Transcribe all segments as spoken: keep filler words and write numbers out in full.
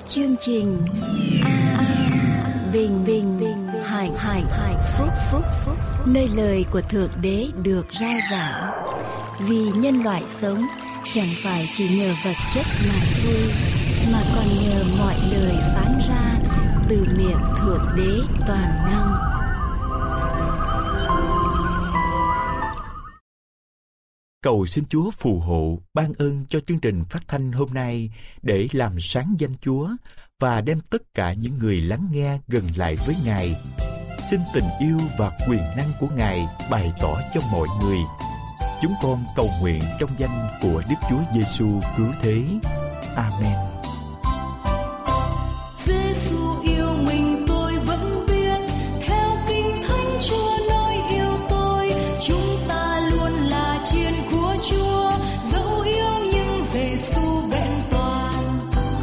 Chương trình A, A Bình Bình Bình Hạnh Hạnh Hạnh Phúc Phúc Phúc, nơi lời của Thượng Đế được rao giảng. Vì nhân loại sống chẳng phải chỉ nhờ vật chất mà thôi, mà còn nhờ mọi lời phán ra từ miệng Thượng Đế toàn năng. Cầu xin Chúa phù hộ, ban ơn cho chương trình phát thanh hôm nay để làm sáng danh Chúa và đem tất cả những người lắng nghe gần lại với Ngài. Xin tình yêu và quyền năng của Ngài bày tỏ cho mọi người. Chúng con cầu nguyện trong danh của Đức Chúa Giêsu cứu thế. Amen. Giêsu yêu mình tôi vẫn biết, theo Kinh Thánh Chúa nói yêu tôi. Chúng ta luôn là chiên của Chúa, dẫu yêu nhưng Giêsu vẹn toàn.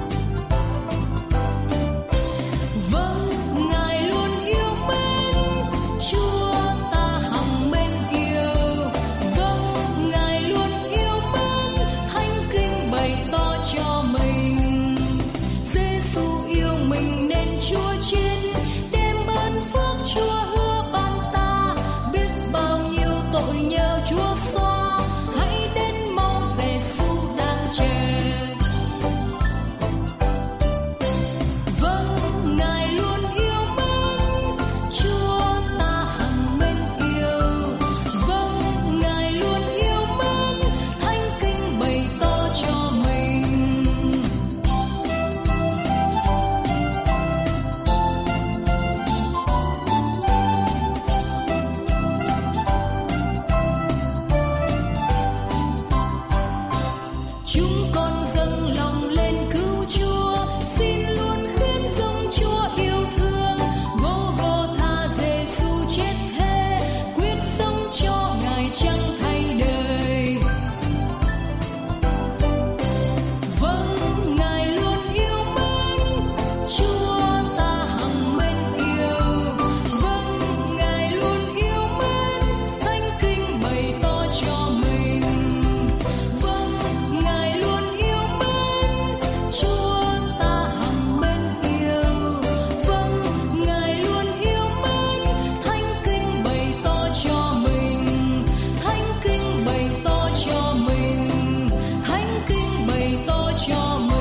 Vâng, Ngài luôn yêu mến, Chúa ta hằng mến yêu. Vâng, Ngài luôn yêu mến, Thánh Kinh bày tỏ cho mình. Giêsu yêu mình nên Chúa chết, đem ơn phước Chúa hứa ban ta. Biết bao nhiêu tội nhờ Chúa xóa, hãy đến mau Giêsu đang chờ. Vâng, Ngài luôn yêu mến, Chúa ta hằng mến yêu. Vâng, Ngài luôn yêu mến, Thánh Kinh bày tỏ cho mình. Chúng con dâng lòng lên cứu Chúa, xin luôn khuyên dâng Chúa yêu thương. Gô-gô-tha Giêsu chết thế, quyết sống cho Ngài chẳng thay đời. Vâng, Ngài luôn yêu mến, Chúa ta hằng mến yêu. Vâng, Ngài luôn yêu mến, Thánh Kinh bày tỏ cho mình. Vâng, Ngài luôn yêu mến, Chúa ta hằng mến yêu. Vâng, Ngài luôn yêu mến, Thánh Kinh bày tỏ cho mình. Thánh Kinh bày tỏ cho mình. Thánh Kinh bày tỏ cho mình.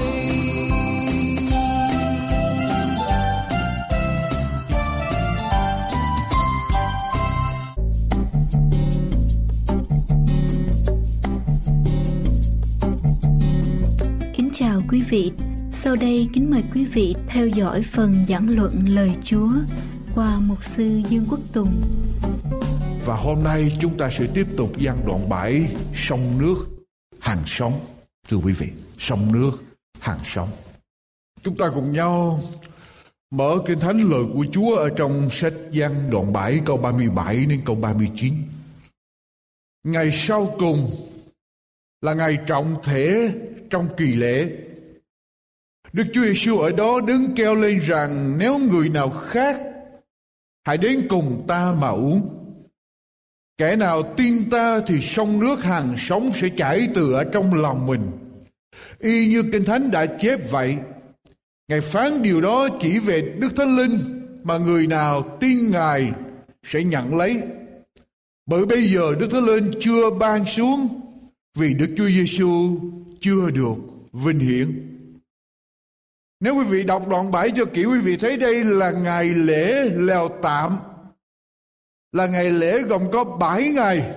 Kính chào quý vị. Sau đây kính mời quý vị theo dõi phần giảng luận lời Chúa qua mục sư Dương Quốc Tùng. Và hôm nay chúng ta sẽ tiếp tục giảng đoạn bảy, sông nước hàng sống. Thưa quý vị, sông nước hàng sống. Chúng ta cùng nhau mở Kinh Thánh lời của Chúa ở trong sách Giăng đoạn bảy câu ba mươi bảy đến câu ba mươi chín. Ngày sau cùng là ngày trọng thể trong kỳ lễ. Đức Chúa Giêsu ở đó đứng kêu lên rằng nếu người nào khác hãy đến cùng ta mà uống. Kẻ nào tin ta thì sông nước hàng sống sẽ chảy từ ở trong lòng mình. Y như Kinh Thánh đã chép vậy. Ngài phán điều đó chỉ về Đức Thánh Linh mà người nào tin Ngài sẽ nhận lấy. Bởi bây giờ Đức Thánh Linh chưa ban xuống vì Đức Chúa Giêsu chưa được vinh hiển. Nếu quý vị đọc đoạn bảy cho kỹ, quý vị thấy đây là ngày lễ lều tạm, là ngày lễ gồm có bảy ngày.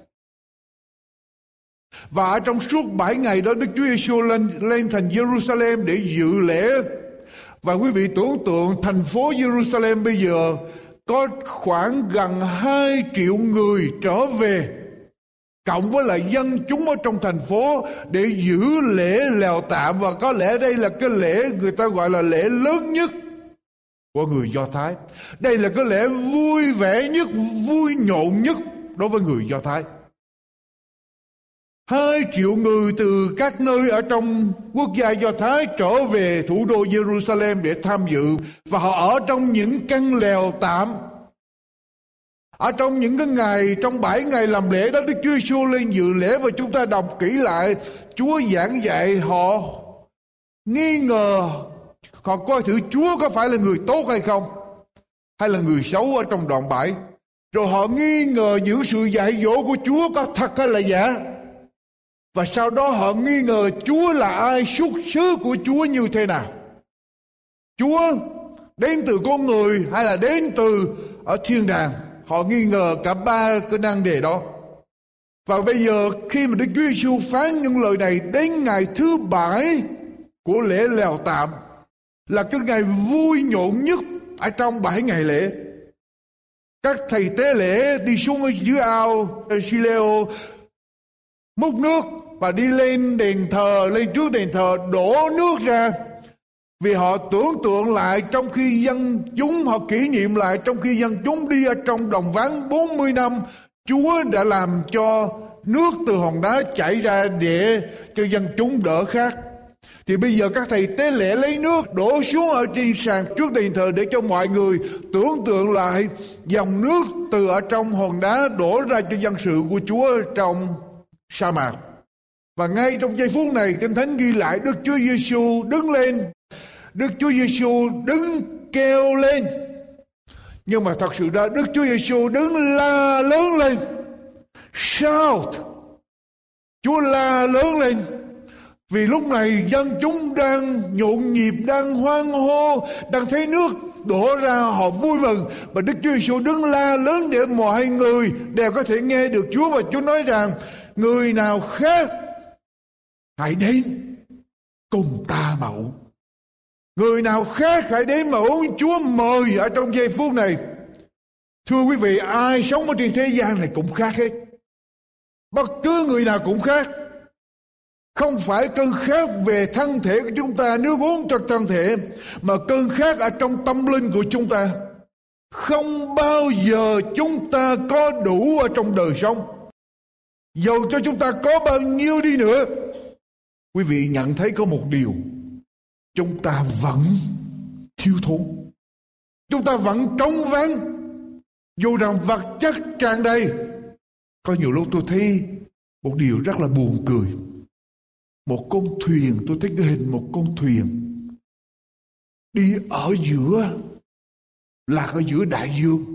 Và ở trong suốt bảy ngày đó, Đức Chúa Giêsu lên lên thành Jerusalem để dự lễ. Và quý vị tưởng tượng thành phố Jerusalem bây giờ có khoảng gần hai triệu người trở về, cộng với lại dân chúng ở trong thành phố để giữ lễ lều tạm. Và có lẽ đây là cái lễ người ta gọi là lễ lớn nhất của người Do Thái. Đây là cái lễ vui vẻ nhất, vui nhộn nhất đối với người Do Thái. Hai triệu người từ các nơi ở trong quốc gia Do Thái trở về thủ đô Jerusalem để tham dự. Và họ ở trong những căn lều tạm. Ở trong những cái ngày, trong bảy ngày làm lễ đó, Đức Chúa Giêsu lên dự lễ. Và chúng ta đọc kỹ lại, Chúa giảng dạy họ nghi ngờ Họ coi thử Chúa có phải là người tốt hay không, hay là người xấu ở trong đoạn bảy. Rồi họ nghi ngờ những sự dạy dỗ của Chúa có thật hay là giả. Và sau đó họ nghi ngờ Chúa là ai, xuất xứ của Chúa như thế nào. Chúa đến từ con người hay là đến từ ở thiên đàng. Họ nghi ngờ cả ba cái năng đề đó. Và bây giờ khi mà Đức Chúa Giêsu phán những lời này đến ngày thứ bảy của lễ lèo tạm, là cái ngày vui nhộn nhất ở trong bảy ngày lễ. Các thầy tế lễ đi xuống ở dưới ao Sileo múc nước và đi lên đền thờ, lên trước đền thờ đổ nước ra. Vì họ tưởng tượng lại trong khi dân chúng, họ kỷ niệm lại trong khi dân chúng đi ở trong đồng vắng bốn mươi năm, Chúa đã làm cho nước từ hòn đá chảy ra để cho dân chúng đỡ khát. Thì bây giờ các thầy tế lễ lấy nước đổ xuống ở trên sàn trước đền thờ để cho mọi người tưởng tượng lại dòng nước từ ở trong hòn đá đổ ra cho dân sự của Chúa trong sa mạc. Và ngay trong giây phút này, Kinh Thánh ghi lại Đức Chúa Giêsu đứng lên. Đức Chúa Giêsu đứng kêu lên. Nhưng mà thật sự ra Đức Chúa Giêsu đứng la lớn lên. Shout. Chúa la lớn lên. Vì lúc này dân chúng đang nhộn nhịp, đang hoan hô, đang thấy nước đổ ra, họ vui mừng. Và Đức Chúa Giêsu đứng la lớn để mọi người đều có thể nghe được Chúa. Và Chúa nói rằng người nào khác hãy đến cùng ta mà uống. Người nào khác hãy đến mà uống. Chúa mời ở trong giây phút này. Thưa quý vị, ai sống ở trên thế gian này cũng khác hết. Bất cứ người nào cũng khác. Không phải cơn khát về thân thể của chúng ta, nước uống cho thân thể, mà cơn khát ở trong tâm linh của chúng ta. Không bao giờ chúng ta có đủ ở trong đời sống. Dầu cho chúng ta có bao nhiêu đi nữa, quý vị nhận thấy có một điều, chúng ta vẫn thiếu thốn. Chúng ta vẫn trống vắng. Dù rằng vật chất tràn đầy. Có nhiều lúc tôi thấy một điều rất là buồn cười. Một con thuyền, tôi thấy cái hình một con thuyền đi ở giữa, lạc ở giữa đại dương.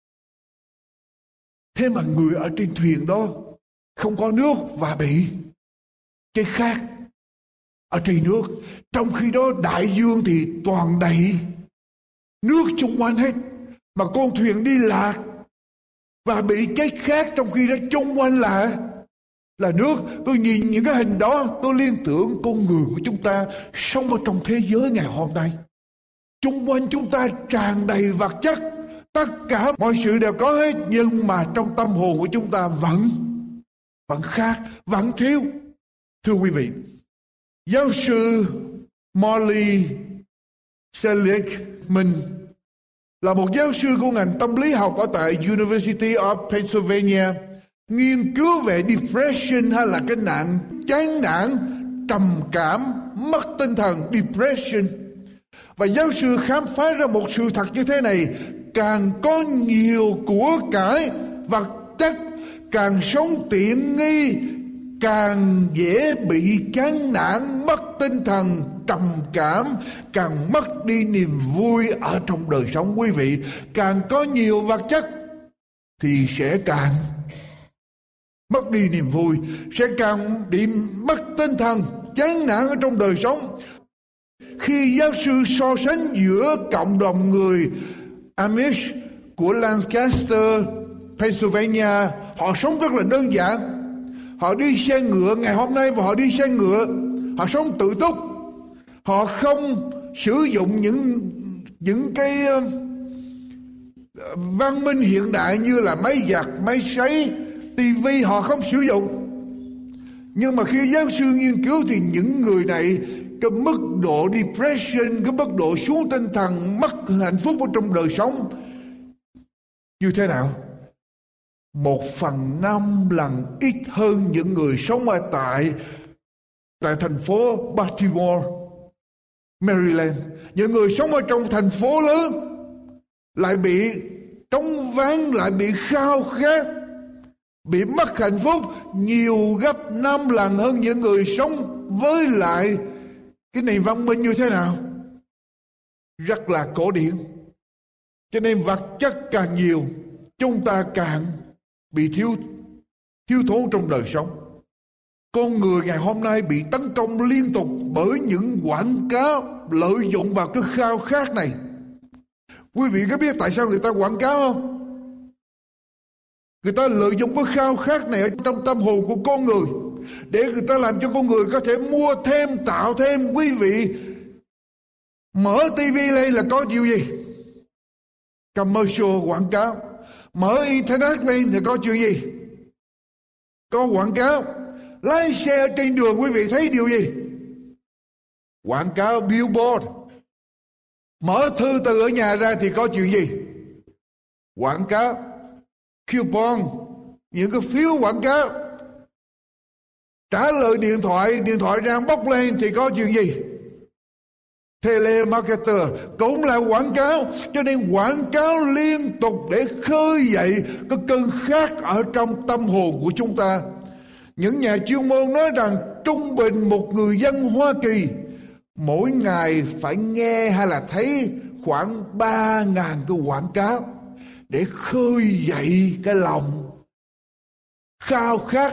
Thế mà người ở trên thuyền đó không có nước và bị cái khát ở trên nước. Trong khi đó đại dương thì toàn đầy nước xung quanh hết. Mà con thuyền đi lạc và bị chết khát, trong khi đó xung quanh là là nước. Tôi nhìn những cái hình đó, tôi liên tưởng con người của chúng ta sống ở trong thế giới ngày hôm nay. Xung quanh chúng ta tràn đầy vật chất, tất cả mọi sự đều có hết, nhưng mà trong tâm hồn của chúng ta vẫn vẫn khát, vẫn thiếu. Thưa quý vị, giáo sư Molly Seligman là một giáo sư của ngành tâm lý học ở tại University of Pennsylvania, nghiên cứu về depression hay là cái nạn chán nản, trầm cảm, mất tinh thần, depression. Và giáo sư khám phá ra một sự thật như thế này: càng có nhiều của cải vật chất, càng sống tiện nghi, càng dễ bị chán nản, mất tinh thần, trầm cảm, càng mất đi niềm vui ở trong đời sống. Quý vị, càng có nhiều vật chất thì sẽ càng mất đi niềm vui, sẽ càng bị mất tinh thần, chán nản ở trong đời sống. Khi giáo sư so sánh giữa cộng đồng người Amish của Lancaster, Pennsylvania, họ sống rất là đơn giản. Họ đi xe ngựa ngày hôm nay và họ đi xe ngựa. Họ sống tự túc. Họ không sử dụng những những cái uh, văn minh hiện đại như là máy giặt, máy sấy, tivi, họ không sử dụng. Nhưng mà khi giáo sư nghiên cứu thì những người này, cái mức độ depression, cái mức độ xuống tinh thần, mất hạnh phúc ở trong đời sống như thế nào? Một phần năm lần ít hơn những người sống ở tại tại thành phố Baltimore, Maryland. Những người sống ở trong thành phố lớn lại bị trống vắng, lại bị khao khát, bị mất hạnh phúc nhiều gấp năm lần hơn những người sống với lại cái nền văn minh như thế nào? rất là cổ điển. Cho nên vật chất càng nhiều, chúng ta càng bị thiếu thiếu thốn trong đời sống. Con người ngày hôm nay bị tấn công liên tục bởi những quảng cáo lợi dụng vào cái khao khát này. Quý vị có biết tại sao người ta quảng cáo không? Người ta lợi dụng cái khao khát này ở trong tâm hồn của con người để người ta làm cho con người có thể mua thêm, tạo thêm. Quý vị mở tivi lên là có chuyện gì? Commercial, quảng cáo. Mở internet lên thì có chuyện gì? Có quảng cáo. Lái xe trên đường quý vị thấy điều gì? Quảng cáo, billboard. Mở thư từ ở nhà ra thì có chuyện gì? Quảng cáo, coupon, những cái phiếu quảng cáo. Trả lời điện thoại, điện thoại đang bốc lên thì có chuyện gì? Telemarketer cũng là quảng cáo. Cho nên quảng cáo liên tục để khơi dậy cái cơn khát ở trong tâm hồn của chúng ta. Những nhà chuyên môn nói rằng trung bình một người dân Hoa Kỳ mỗi ngày phải nghe hay là thấy khoảng ba ngàn cái quảng cáo để khơi dậy cái lòng khao khát,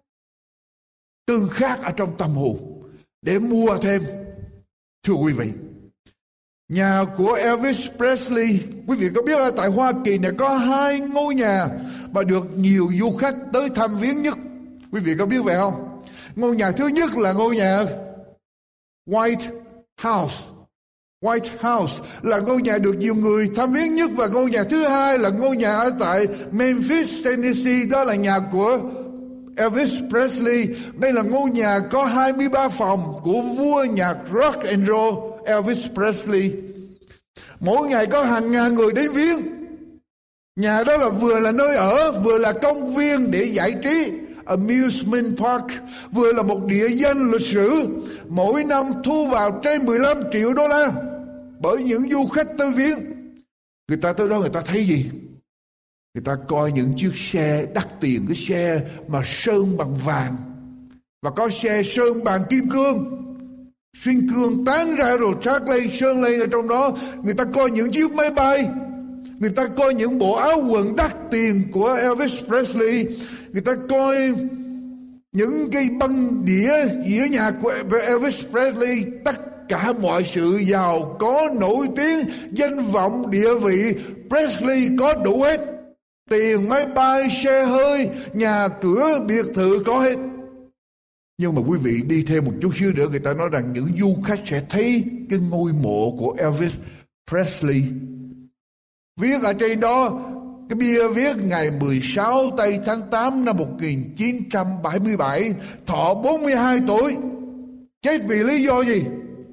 cơn khát ở trong tâm hồn để mua thêm. Thưa quý vị, nhà của Elvis Presley, quý vị có biết ở tại Hoa Kỳ này có hai ngôi nhà mà được nhiều du khách tới thăm viếng nhất. Quý vị có biết vậy không? Ngôi nhà thứ nhất là ngôi nhà White House. White House là ngôi nhà được nhiều người thăm viếng nhất. Và ngôi nhà thứ hai là ngôi nhà ở tại Memphis, Tennessee. Đó là nhà của Elvis Presley. Đây là ngôi nhà có hai mươi ba phòng của vua nhạc rock and roll Elvis Presley. Mỗi ngày có hàng ngàn người đến viếng. Nhà đó là vừa là nơi ở, vừa là công viên để giải trí, amusement park, vừa là một địa danh lịch sử. Mỗi năm thu vào trên mười lăm triệu đô la bởi những du khách tới viếng. Người ta tới đó người ta thấy gì? Người ta coi những chiếc xe đắt tiền, cái xe mà sơn bằng vàng, và có xe sơn bằng kim cương, xuyên cương tán ra rồi trát lên, sơn lên ở trong đó. Người ta coi những chiếc máy bay, người ta coi những bộ áo quần đắt tiền của Elvis Presley, người ta coi những cái băng đĩa dĩa nhạc của Elvis Presley. Tất cả mọi sự giàu có, nổi tiếng, danh vọng, địa vị, Presley có đủ hết. Tiền, máy bay, xe hơi, nhà cửa, biệt thự có hết. Nhưng mà quý vị đi thêm một chút xíu nữa, người ta nói rằng những du khách sẽ thấy cái ngôi mộ của Elvis Presley. Viết ở trên đó, cái bia viết ngày mười sáu tây tháng tám năm một nghìn chín trăm bảy mươi bảy, thọ bốn mươi hai tuổi. Chết vì lý do gì?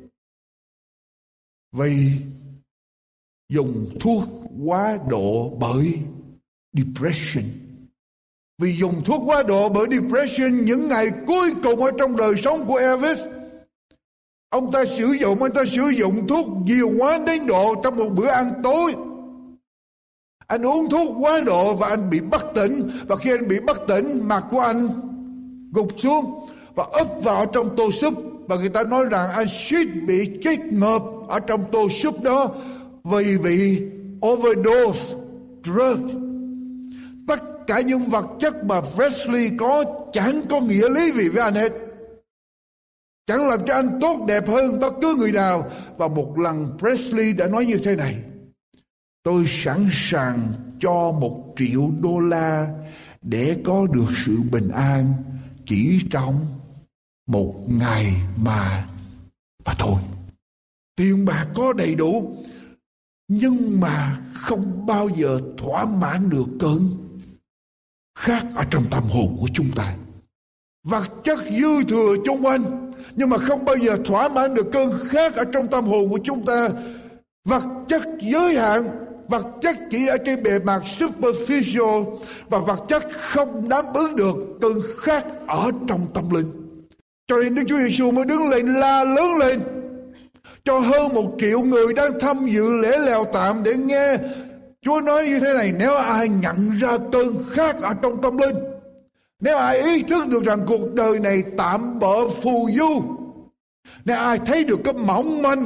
Vì dùng thuốc quá độ bởi depression. Vì dùng thuốc quá độ bởi depression, những ngày cuối cùng ở trong đời sống của Elvis, ông ta sử dụng ông ta sử dụng thuốc nhiều quá đến độ trong một bữa ăn tối, anh uống thuốc quá độ và anh bị bất tỉnh. Và khi anh bị bất tỉnh, mặt của anh gục xuống và úp vào trong tô súp. Và người ta nói rằng anh suýt bị chết ngợp ở trong tô súp đó vì bị overdose drug. Tất cả những vật chất mà Presley có chẳng có nghĩa lý gì với anh hết, chẳng làm cho anh tốt đẹp hơn bất cứ người nào. Và một lần Presley đã nói như thế này: tôi sẵn sàng cho một triệu đô la để có được sự bình an chỉ trong một ngày mà mà thôi. Tiền bạc có đầy đủ, nhưng mà không bao giờ thỏa mãn được cơn khát ở trong tâm hồn của chúng ta. Vật chất dư thừa chung quanh, nhưng mà không bao giờ thỏa mãn được cơn khát ở trong tâm hồn của chúng ta. Vật chất giới hạn, vật chất chỉ ở trên bề mặt superficial, và vật chất không đáp ứng được cơn khát ở trong tâm linh. Cho nên Đức Chúa Giêsu mới đứng lên la lớn lên cho hơn một triệu người đang tham dự lễ lèo tạm để nghe Chúa nói như thế này: nếu ai nhận ra cơn khát ở trong tâm linh, nếu ai ý thức được rằng cuộc đời này tạm bợ phù du, nếu ai thấy được cái mỏng manh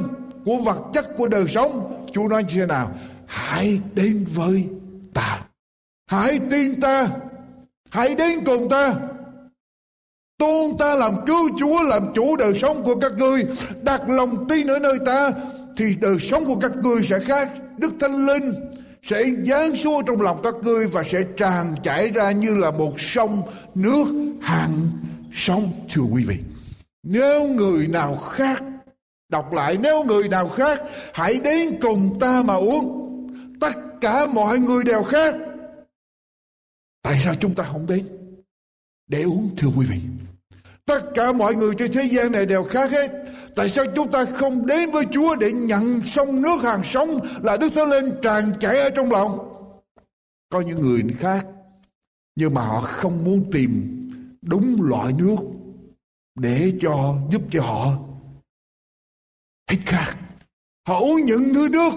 của vật chất, của đời sống. Chúa nói như thế nào? Hãy đến với ta, hãy tin ta, hãy đến cùng ta, tôn ta làm cứu Chúa, làm chủ đời sống của các ngươi, đặt lòng tin ở nơi ta, thì đời sống của các ngươi sẽ khác. Đức Thánh Linh sẽ giáng xuống trong lòng các ngươi và sẽ tràn chảy ra như là một sông nước hàng sống. Thưa quý vị, nếu người nào khác, đọc lại, nếu người nào khác hãy đến cùng ta mà uống. Tất cả mọi người đều khác, tại sao chúng ta không đến để uống? Thưa quý vị, tất cả mọi người trên thế gian này đều khác hết. Tại sao chúng ta không đến với Chúa để nhận sông nước hàng sống là Đức Thánh Linh tràn chảy ở trong lòng? Có những người khác, nhưng mà họ không muốn tìm đúng loại nước để cho giúp cho họ hết khát. Họ uống những thứ nước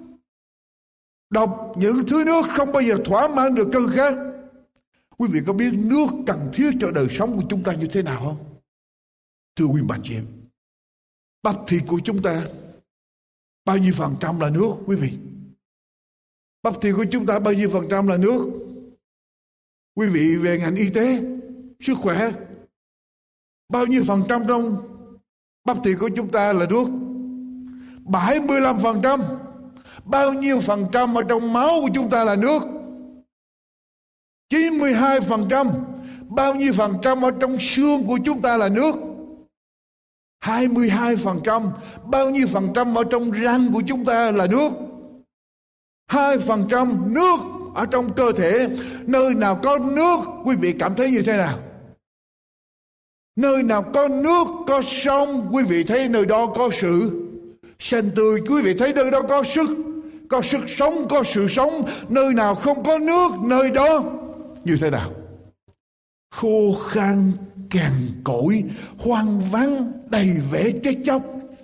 độc, những thứ nước không bao giờ thỏa mãn được cơn khát. Quý vị có biết nước cần thiết cho đời sống của chúng ta như thế nào không? Thưa quý bạn chị em, bắp thịt của chúng ta bao nhiêu phần trăm là nước? Quý vị, bắp thịt của chúng ta bao nhiêu phần trăm là nước? Quý vị về ngành y tế, sức khỏe, bao nhiêu phần trăm trong bắp thịt của chúng ta là nước? bảy mươi lăm phần trăm. Bao nhiêu phần trăm ở trong máu của chúng ta là nước? chín mươi hai phần trăm. Bao nhiêu phần trăm ở trong xương của chúng ta là nước? hai mươi hai phần trăm. Bao nhiêu phần trăm ở trong răng của chúng ta là nước? hai phần trăm nước ở trong cơ thể. Nơi nào có nước, quý vị cảm thấy như thế nào? Nơi nào có nước, có sông, quý vị thấy nơi đó có sự xanh tươi. Quý vị thấy nơi đó có sức, có sức sống, có sự sống. Nơi nào không có nước, nơi đó như thế nào? Khô khan, cằn cỗi, hoang vắng, đầy vẻ chết chóc.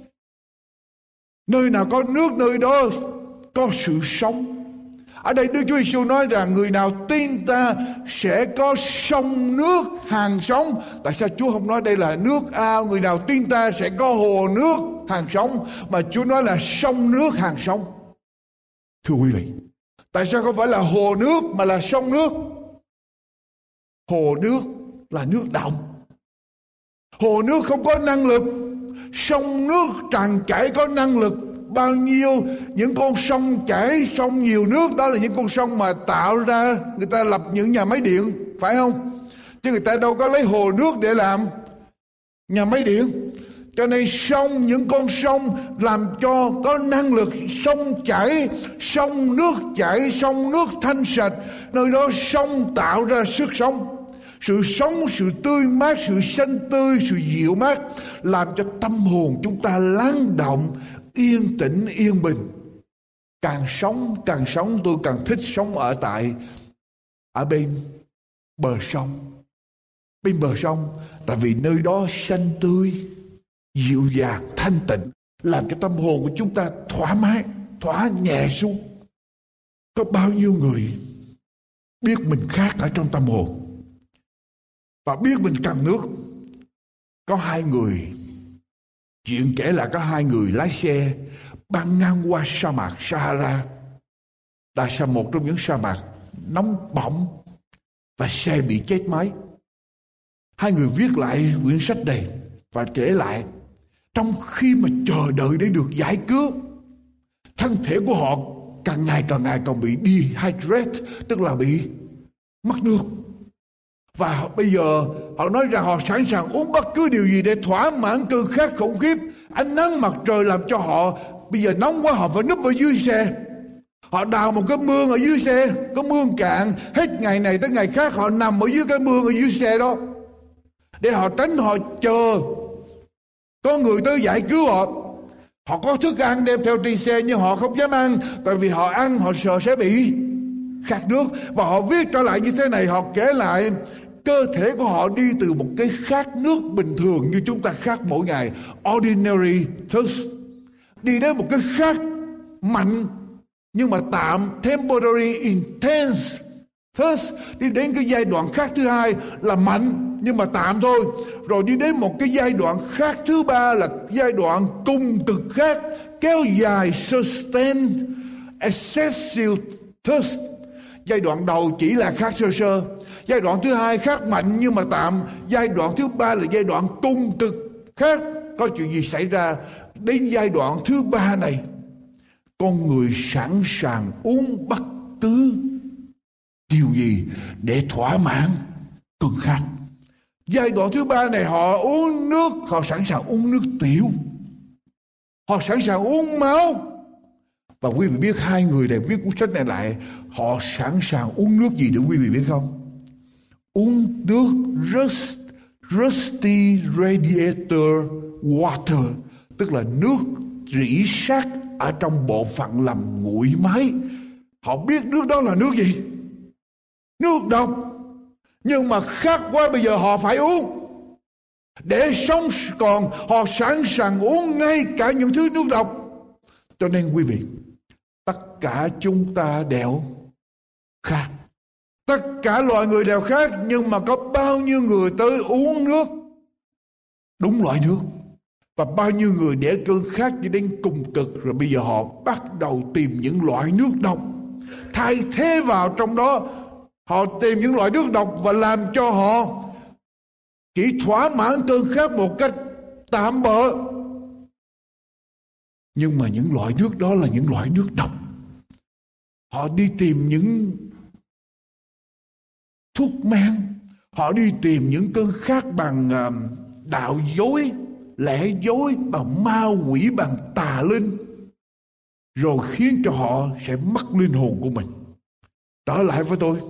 Nơi nào có nước, nơi đó có sự sống. Ở đây Đức Chúa Giêsu nói rằng người nào tin ta sẽ có sông nước hàng sống. Tại sao Chúa không nói đây là nước ao? Người nào tin ta sẽ có hồ nước hàng sống, mà Chúa nói là sông nước hàng sống. Thưa quý vị, tại sao không phải là hồ nước mà là sông nước? Hồ nước là nước động, hồ nước không có năng lực. Sông nước tràn chảy có năng lực. Bao nhiêu những con sông chảy, sông nhiều nước, đó là những con sông mà tạo ra, người ta lập những nhà máy điện, phải không? Chứ người ta đâu có lấy hồ nước để làm nhà máy điện. Cho nên sông, những con sông làm cho có năng lực. Sông chảy, sông nước chảy, sông nước thanh sạch. Nơi đó sông tạo ra sức sống, sự sống, sự tươi mát, sự xanh tươi, sự dịu mát, làm cho tâm hồn chúng ta lắng động, yên tĩnh, yên bình. Càng sống, càng sống, tôi càng thích sống ở tại ở bên bờ sông. Bên bờ sông, tại vì nơi đó xanh tươi, dịu dàng, thanh tịnh, làm cho tâm hồn của chúng ta thoải mái, thỏa nhẹ xuống. Có bao nhiêu người biết mình khác ở trong tâm hồn và biết mình cần nước. Có hai người, chuyện kể là có hai người lái xe băng ngang qua sa mạc Sahara. Tại sao một trong những sa mạc nóng bỏng và xe bị chết máy. Hai người viết lại quyển sách này và kể lại trong khi mà chờ đợi để được giải cứu, thân thể của họ càng ngày càng ngày còn bị dehydrate, tức là bị mất nước. Và bây giờ họ nói rằng họ sẵn sàng uống bất cứ điều gì để thỏa mãn cơn khát khủng khiếp. Ánh nắng mặt trời làm cho họ bây giờ nóng quá, họ phải núp ở dưới xe. Họ đào một cái mương ở dưới xe, có mương cạn, hết ngày này tới ngày khác họ nằm ở dưới cái mương ở dưới xe đó để họ tránh, họ chờ có người tới giải cứu họ. Họ có thức ăn đem theo trên xe nhưng họ không dám ăn, tại vì họ ăn họ sợ sẽ bị khát nước. Và họ viết trở lại như thế này, họ kể lại cơ thể của họ đi từ một cái khát nước bình thường như chúng ta khát mỗi ngày, ordinary thirst, đi đến một cái khát mạnh nhưng mà tạm, temporary intense thirst, đi đến cái giai đoạn khát thứ hai là mạnh nhưng mà tạm thôi, rồi đi đến một cái giai đoạn khát thứ ba là giai đoạn cùng cực khát, kéo dài, sustain, excessive thirst. Giai đoạn đầu chỉ là khát sơ sơ, giai đoạn thứ hai khát mạnh nhưng mà tạm, giai đoạn thứ ba là giai đoạn cung cực khát. Có chuyện gì xảy ra? Đến giai đoạn thứ ba này, con người sẵn sàng uống bất cứ điều gì để thỏa mãn cơn khát. Giai đoạn thứ ba này họ uống nước, họ sẵn sàng uống nước tiểu, họ sẵn sàng uống máu. Và quý vị biết hai người này viết cuốn sách này lại, họ sẵn sàng uống nước gì để quý vị biết không? Uống nước rust, rusty radiator water, tức là nước rỉ sắt ở trong bộ phận làm nguội máy. Họ biết nước đó là nước gì? Nước độc. Nhưng mà khát quá, bây giờ họ phải uống. Để sống còn, họ sẵn sàng uống ngay cả những thứ nước độc. Cho nên quý vị, tất cả chúng ta đều khát. Tất cả loài người đều khát, nhưng mà có bao nhiêu người tới uống nước đúng loại nước? Và bao nhiêu người để cơn khát cho đến cùng cực, rồi bây giờ họ bắt đầu tìm những loại nước độc, thay thế vào trong đó. Họ tìm những loại nước độc và làm cho họ chỉ thỏa mãn cơn khát một cách tạm bợ. Nhưng mà những loại nước đó là những loại nước độc. Họ đi tìm những thuốc men, họ đi tìm những cơn khát bằng uh, đạo dối, lẽ dối, bằng ma quỷ, bằng tà linh, rồi khiến cho họ sẽ mất linh hồn của mình. Trở lại với tôi,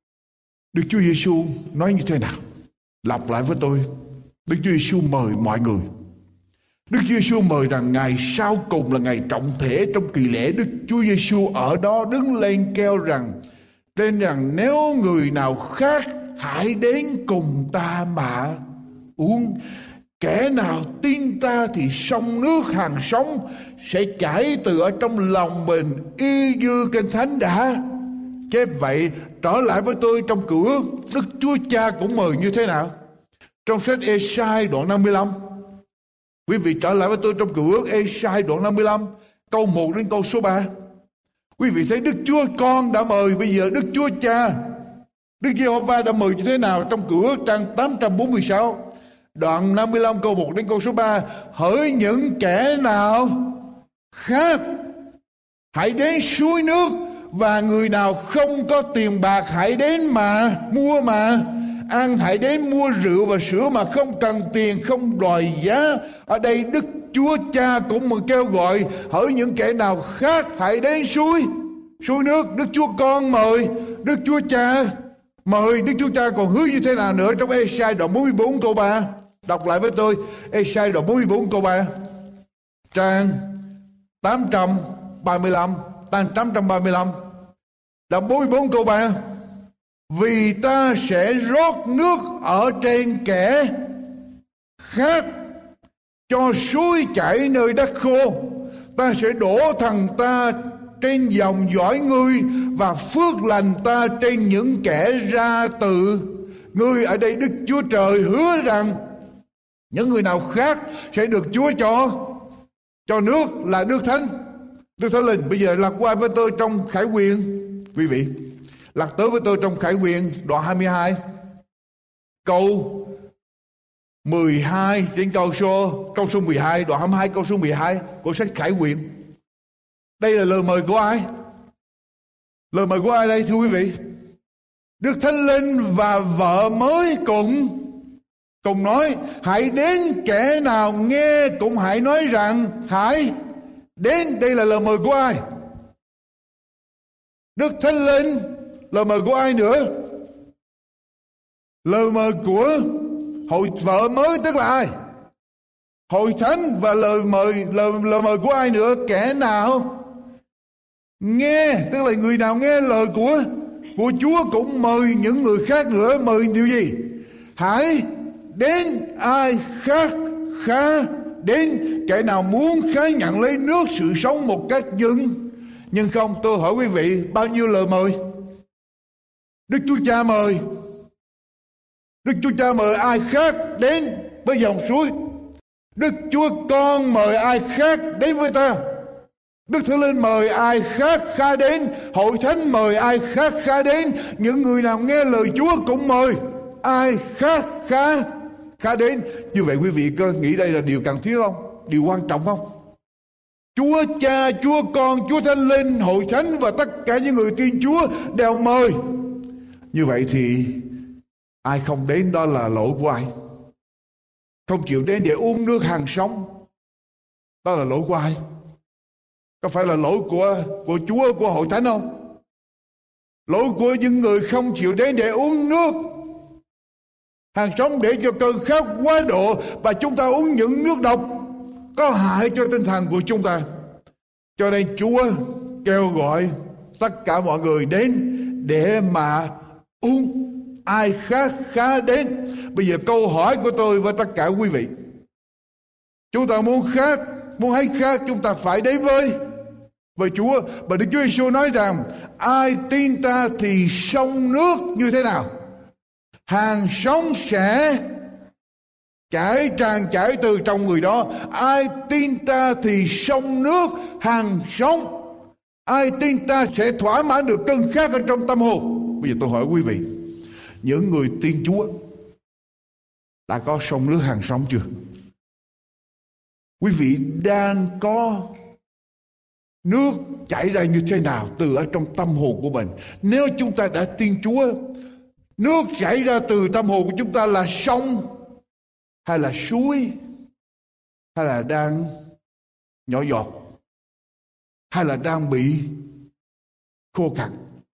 Đức Chúa Giêsu nói như thế nào? Lặp lại với tôi, Đức Chúa Giêsu mời mọi người. Đức Chúa Giêsu mời rằng ngày sau cùng là ngày trọng thể trong kỳ lễ. Đức Chúa Giêsu ở đó đứng lên kêu rằng, tên rằng nếu người nào khát hãy đến cùng ta mà uống. Kẻ nào tin ta thì sông nước hàng sống sẽ chảy từ ở trong lòng mình, y như Kinh Thánh đã chép vậy. Trở lại với tôi trong Cựu Ước, Đức Chúa Cha cũng mời như thế nào? Trong sách Ê-sai đoạn năm mươi lăm, quý vị trở lại với tôi trong Cựu Ước Ê-sai đoạn năm mươi lăm, câu một đến câu số ba. Quý vị thấy Đức Chúa Con đã mời, bây giờ Đức Chúa Cha, Đức Giê-hô-va đã mời như thế nào? Trong Cựu Ước trang tám trăm bốn mươi sáu, đoạn năm mươi lăm câu một đến câu số ba. Hỡi những kẻ nào khát hãy đến suối nước, và người nào không có tiền bạc hãy đến mà mua mà ăn. Hãy đến mua rượu và sữa mà không cần tiền, không đòi giá. Ở đây Đức Chúa Cha cũng mà kêu gọi hỡi những kẻ nào khát hãy đến suối suối nước. Đức Chúa Con mời, Đức Chúa Cha mời. Đức Chúa Cha còn hứa như thế nào nữa? Trong Ê-sai đoạn bốn mươi bốn câu ba, đọc lại với tôi. Ê-sai đoạn bốn mươi bốn câu ba, trang tám trăm ba mươi lăm, trang tám trăm ba mươi lăm, đoạn bốn mươi bốn câu ba. Vì ta sẽ rót nước ở trên kẻ khát, cho suối chảy nơi đất khô. Ta sẽ đổ thần ta trên dòng dõi ngươi, và phước lành ta trên những kẻ ra từ ngươi. Ở đây Đức Chúa Trời hứa rằng những người nào khát sẽ được Chúa cho cho nước là nước thánh, nước thánh linh. Bây giờ lật qua với tôi trong Khải Huyền, quý vị lật tới với tôi trong Khải Huyền đoạn hai mươi hai câu mười hai trên câu số câu số mười hai, đoạn hai mươi hai câu số mười hai của sách Khải Huyền. Đây là lời mời của ai? Lời mời của ai đây thưa quý vị? Đức Thánh Linh và vợ mới cùng cùng nói hãy đến. Kẻ nào nghe cũng hãy nói rằng hãy đến. Đây là lời mời của ai? Đức Thánh Linh. Lời mời của ai nữa? Lời mời của hội vợ mới, tức là ai? Hội thánh. Và lời mời lời, lời mời của ai nữa? Kẻ nào nghe, tức là người nào nghe lời của của Chúa cũng mời những người khác nữa. Mời điều gì? Hãy đến. Ai khát khá đến. Kẻ nào muốn khá nhận lấy nước sự sống một cách dưng. Nhưng không, tôi hỏi quý vị, bao nhiêu lời mời? Đức Chúa Cha mời. Đức Chúa Cha mời ai khác đến với dòng suối. Đức Chúa Con mời ai khác đến với ta. Đức Thánh Linh mời ai khát khá đến, hội thánh mời ai khát khá đến, những người nào nghe lời Chúa cũng mời ai khát khá khá đến. Như vậy quý vị có nghĩ đây là điều cần thiết không? Điều quan trọng không? Chúa Cha, Chúa Con, Chúa Thánh Linh, hội thánh và tất cả những người tin Chúa đều mời. Như vậy thì ai không đến đó là lỗi của ai? Không chịu đến để uống nước hàng sống, đó là lỗi của ai? Có phải là lỗi của của Chúa, của hội thánh không? Lỗi của những người không chịu đến để uống nước hàng sống, để cho cơn khát quá độ và chúng ta uống những nước độc có hại cho tinh thần của chúng ta. Cho nên Chúa kêu gọi tất cả mọi người đến để mà uống. Ai khát khá đến. Bây giờ câu hỏi của tôi với tất cả quý vị, chúng ta muốn khát, muốn hay khát, chúng ta phải đến với với Chúa. Và Đức Chúa Giêsu nói rằng ai tin ta thì sông nước như thế nào? Hàng sống sẽ chảy tràn chảy từ trong người đó. Ai tin ta thì sông nước hàng sống. Ai tin ta sẽ thỏa mãn được cơn khát ở trong tâm hồn. Bây giờ tôi hỏi quý vị, những người tin Chúa đã có sông nước hàng sống chưa? Quý vị đang có nước chảy ra như thế nào từ ở trong tâm hồn của mình? Nếu chúng ta đã tin Chúa, nước chảy ra từ tâm hồn của chúng ta là sông hay là suối, hay là đang nhỏ giọt, hay là đang bị khô cằn?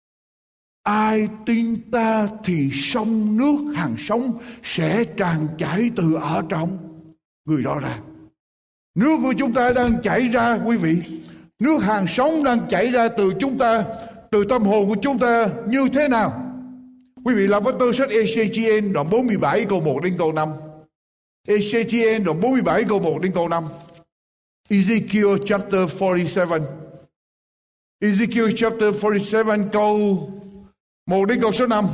Ai tin ta thì sông nước hàng sống sẽ tràn chảy từ ở trong người đó ra. Nước của chúng ta đang chảy ra quý vị. Nước hàng sống đang chảy ra từ chúng ta, từ tâm hồn của chúng ta như thế nào? Quý vị làm với tôi sách e xê giê en đoạn bốn mươi bảy câu một đến câu năm. e xê giê en đoạn bốn mươi bảy câu một đến câu năm. Ezekiel chapter forty-seven. Ezekiel chapter forty-seven câu một đến câu số năm.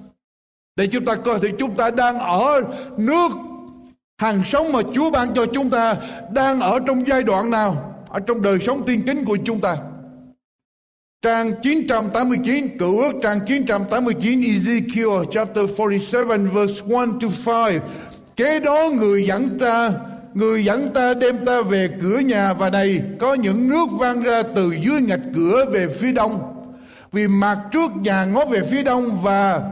Để chúng ta coi thì chúng ta đang ở nước hàng sống mà Chúa ban cho chúng ta, đang ở trong giai đoạn nào ở trong đời sống tiên kính của chúng ta. Trang chín trăm tám mươi chín, Cựu Ước trang chín trăm tám mươi chín, Ezekiel chapter forty-seven verse one to five. Kế đó người dẫn ta, người dẫn ta đem ta về cửa nhà, và này có những nước vang ra từ dưới ngạch cửa về phía đông. Vì mặt trước nhà ngó về phía đông, và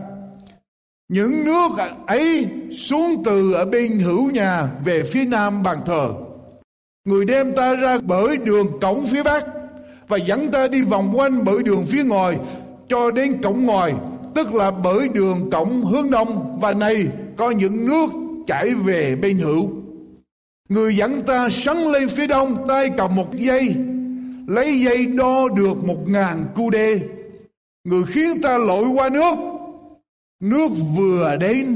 những nước ấy xuống từ ở bên hữu nhà về phía nam bàn thờ. Người đem ta ra bởi đường cổng phía bắc, và dẫn ta đi vòng quanh bởi đường phía ngoài cho đến cổng ngoài, tức là bởi đường cổng hướng đông. Và này có những nước chảy về bên hữu. Người dẫn ta sắn lên phía đông, tay cầm một dây, lấy dây đo được một ngàn cu đê. Người khiến ta lội qua nước, nước vừa đến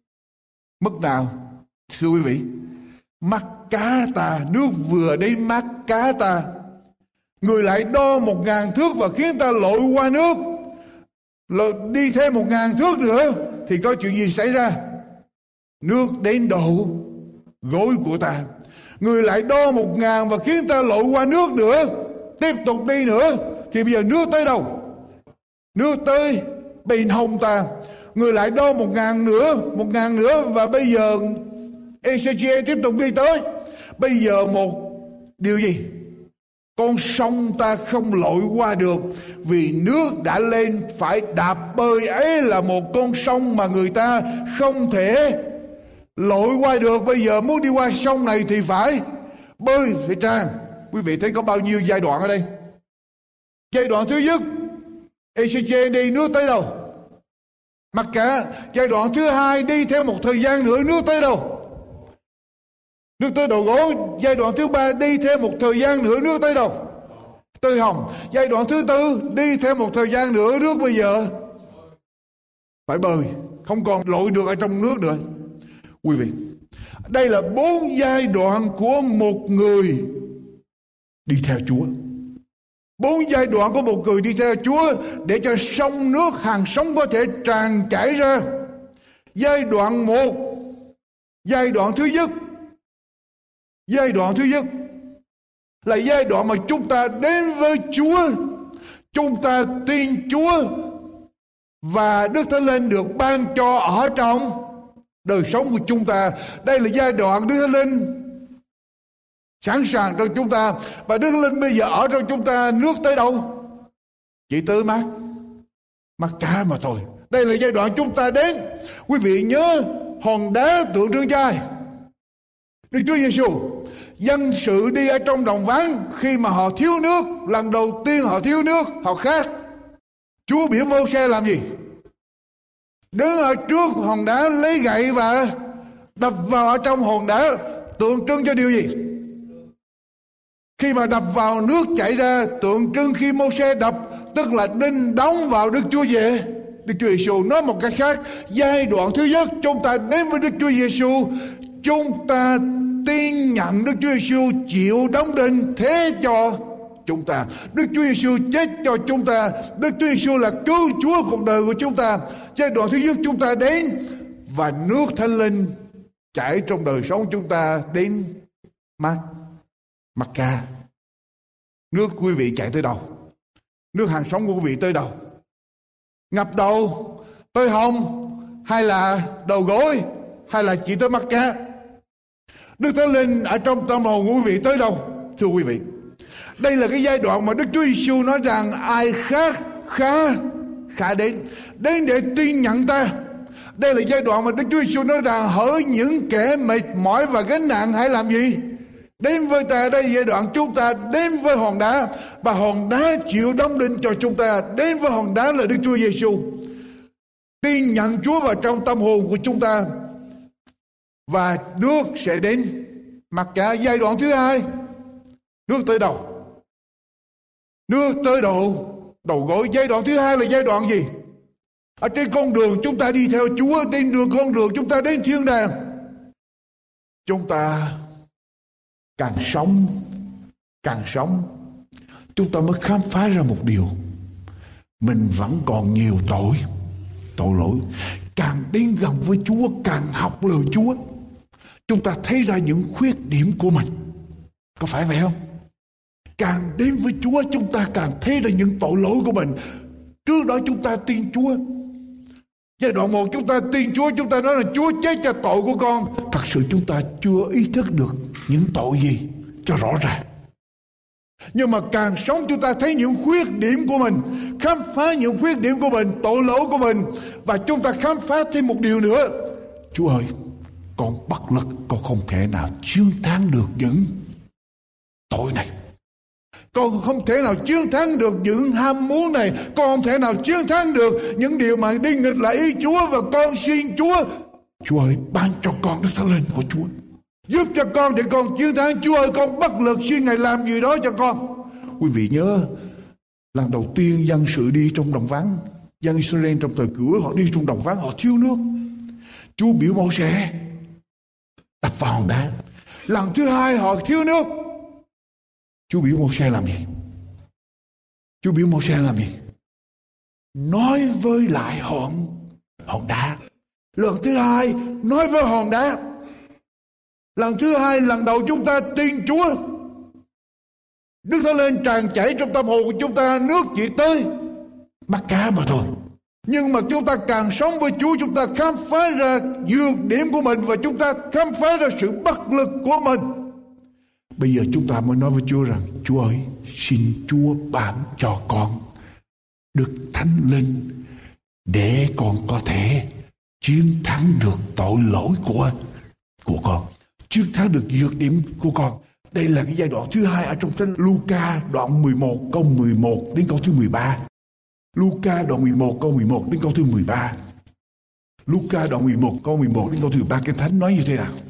mức nào? Thưa quý vị, mắt cá ta, nước vừa đến mắt cá ta. Người lại đo một ngàn thước và khiến ta lội qua nước. Rồi đi thêm một ngàn thước nữa thì có chuyện gì xảy ra? Nước đến độ gối của ta. Người lại đo một ngàn và khiến ta lội qua nước nữa. Tiếp tục đi nữa thì bây giờ nước tới đâu? Nước tới bên hông ta. Người lại đo một ngàn nữa, một ngàn nữa, và bây giờ e xê giê en tiếp tục đi tới. Bây giờ một điều gì? Con sông ta không lội qua được, vì nước đã lên phải đạp bơi. Ấy là một con sông mà người ta không thể lội qua được. Bây giờ muốn đi qua sông này thì phải bơi, phải tràn. Quý vị thấy có bao nhiêu giai đoạn ở đây? Giai đoạn thứ nhất, e xê giê đi nước tới đâu? Mặc cả. Giai đoạn thứ hai, đi theo một thời gian nữa, nước tới đâu? Nước tới đầu gối. Giai đoạn thứ ba, đi theo một thời gian nữa, nước tới đâu? Tới hồng. Giai đoạn thứ tư, đi theo một thời gian nữa, nước bây giờ phải bơi, không còn lội được ở trong nước nữa. Quý vị, đây là bốn giai đoạn của một người đi theo Chúa. Bốn giai đoạn của một người đi theo Chúa để cho sông nước hàng sống có thể tràn chảy ra. Giai đoạn một, giai đoạn thứ nhất, giai đoạn thứ nhất là giai đoạn mà chúng ta đến với Chúa, chúng ta tin Chúa và Đức Thánh Linh được ban cho ở trong đời sống của chúng ta. Đây là giai đoạn Đức Thánh Linh sẵn sàng trong chúng ta, và Đức Thánh Linh bây giờ ở trong chúng ta. Nước tới đâu? Chỉ tới mắt mắt cá mà thôi. Đây là giai đoạn chúng ta đến. Quý vị nhớ hòn đá tượng trưng cho ai? Đức Chúa Giêsu. Dân sự đi ở trong đồng vắng, khi mà họ thiếu nước, lần đầu tiên họ thiếu nước, họ khát. Chúa biểu Mô-se làm gì? Đứng ở trước hòn đá lấy gậy và đập vào ở trong hòn đá, tượng trưng cho điều gì? Khi mà đập vào, nước chảy ra, tượng trưng khi Mô-se đập, tức là đinh đóng vào Đức Chúa về Đức Chúa Giêsu. Nói một cách khác, giai đoạn thứ nhất chúng ta đến với Đức Chúa Giêsu, chúng ta tin nhận Đức Chúa Giêsu chịu đóng đinh thế cho chúng ta. Đức Chúa Giêsu chết cho chúng ta. Đức Chúa Giêsu là cứu Chúa cuộc đời của chúng ta. Giai đoạn thứ nhất chúng ta đến, và nước Thánh Linh chảy trong đời sống chúng ta đến mắt mắt ca. Nước quý vị chạy tới đâu? Nước hàng sống của quý vị tới đâu? Ngập đầu tới hông, hay là đầu gối, hay là chỉ tới mắt cá? Đức Thánh Linh ở trong tâm hồn của quý vị tới đâu? Thưa quý vị, đây là cái giai đoạn mà Đức Chúa Giêsu nói rằng ai khác khá khá đến đến để tin nhận ta. Đây là giai đoạn mà Đức Chúa Giêsu nói rằng hỡi những kẻ mệt mỏi và gánh nặng hãy làm gì? Đến với ta. Đây là giai đoạn chúng ta đến với hòn đá, và hòn đá chịu đóng đinh cho chúng ta. Đến với hòn đá là Đức Chúa Giêsu. Tin nhận Chúa vào trong tâm hồn của chúng ta, và nước sẽ đến mặc cả. Giai đoạn thứ hai, nước tới đầu? Nước tới đầu đầu gối. Giai đoạn thứ hai là giai đoạn gì? Ở trên con đường chúng ta đi theo Chúa, trên đường con đường chúng ta đến thiên đàng, chúng ta càng sống càng sống chúng ta mới khám phá ra một điều: mình vẫn còn nhiều tội tội lỗi. Càng đến gần với Chúa, càng học lời Chúa, chúng ta thấy ra những khuyết điểm của mình. Có phải vậy không? Càng đến với Chúa, chúng ta càng thấy ra những tội lỗi của mình. Trước đó chúng ta tin Chúa. Giai đoạn một chúng ta tin Chúa, chúng ta nói là Chúa chết cho tội của con. Thật sự chúng ta chưa ý thức được những tội gì cho rõ ràng. Nhưng mà càng sống chúng ta thấy những khuyết điểm của mình, khám phá những khuyết điểm của mình, tội lỗi của mình. Và chúng ta khám phá thêm một điều nữa: Chúa ơi, con bất lực, con không thể nào chiến thắng được những tội này. Con không thể nào chiến thắng được những ham muốn này. Con không thể nào chiến thắng được những điều mà đi nghịch lại ý Chúa. Và con xin Chúa, Chúa ơi, ban cho con Đức Thánh Linh của Chúa, giúp cho con để con chiến thắng. Chúa ơi, con bất lực, xin Ngài làm gì đó cho con. Quý vị nhớ lần đầu tiên dân sự đi trong đồng vắng, dân Israel trong thời cựu ước, họ đi trong đồng vắng, họ thiếu nước. Chúa biểu Mô-se đập vào hòn đá. Lần thứ hai họ thiếu nước, Chúa biểu Mô-se làm gì? Chúa biểu Mô-se làm gì? Nói với lại hòn hòn đá. Lần thứ hai nói với hòn đá. Lần thứ hai, lần đầu chúng ta tin Chúa, Đức Thánh Linh tràn chảy trong tâm hồn của chúng ta, nước chỉ tới mắt cá mà thôi. Nhưng mà chúng ta càng sống với Chúa, chúng ta khám phá ra nhược điểm của mình, và chúng ta khám phá ra sự bất lực của mình. Bây giờ chúng ta mới nói với Chúa rằng: Chúa ơi, xin Chúa ban cho con Đức Thánh Linh để con có thể chiến thắng được tội lỗi của của con, chiến thắng được nhược điểm của con. Đây là cái giai đoạn thứ hai ở trong sách Luca đoạn mười một câu mười một đến câu thứ mười ba. Luca đoạn mười một câu mười một đến câu thứ mười ba. Luca đoạn mười một câu mười một đến câu thứ mười ba. Kinh Thánh nói như thế nào?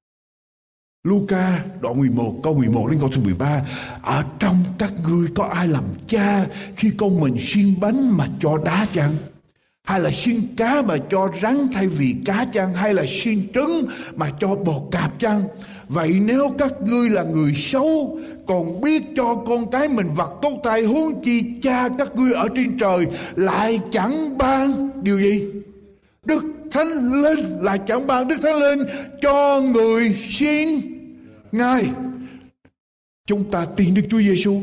Luca đoạn mười một câu mười một đến câu thứ mười ba. Ở trong các ngươi có ai làm cha khi con mình xiên bánh mà cho đá chăng? Hay là xiên cá mà cho rắn thay vì cá chăng? Hay là xiên trứng mà cho bò cạp chăng? Vậy nếu các ngươi là người xấu còn biết cho con cái mình vật tốt tay, huống chi cha các ngươi ở trên trời lại chẳng ban điều gì? Đức Thánh Linh, lại chẳng ban Đức Thánh Linh cho người xin Ngài. chúng ta tin Đức Chúa Giêsu,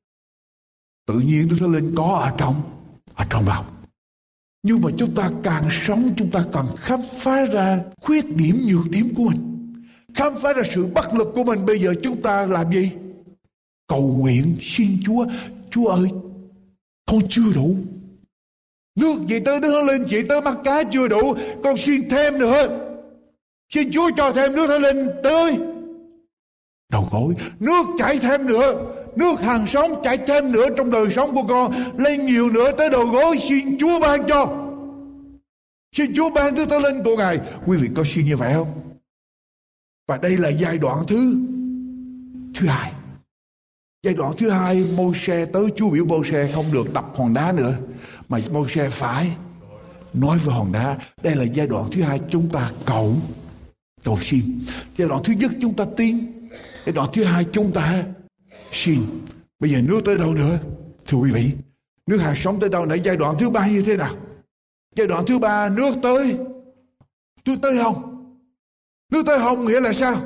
tự nhiên Đức Thánh Linh có ở trong ở trong lòng. Nhưng mà chúng ta càng sống, chúng ta càng khám phá ra khuyết điểm, nhược điểm của mình, khám phá ra sự bất lực của mình. Bây giờ chúng ta làm gì? Cầu nguyện xin Chúa, Chúa ơi, con chưa đủ. Nước chỉ tới Đức Thánh Linh, chỉ tới mắt cá chưa đủ, con xin thêm nữa. Xin Chúa cho thêm nước Thánh Linh tới đầu gối, nước chảy thêm nữa, nước hàng sống chảy thêm nữa trong đời sống của con, lên nhiều nữa tới đầu gối. Xin Chúa ban cho, xin Chúa ban nước Thánh Linh của Ngài. Quý vị có xin như vậy không? Và đây là giai đoạn thứ thứ hai. Giai đoạn thứ hai, Mô-se tới, Chúa biểu Mô-se không được đập hòn đá nữa, mà Mô-se phải nói với hòn đá. Đây là giai đoạn thứ hai, chúng ta cầu cầu xin. Giai đoạn thứ nhất chúng ta tin, giai đoạn thứ hai chúng ta xin. Bây giờ nước tới đâu nữa? Thưa quý vị, nước hạt sống tới đâu nữa? Giai đoạn thứ ba như thế nào? Giai đoạn thứ ba, nước tới nước tới không? Nước tới không nghĩa là sao?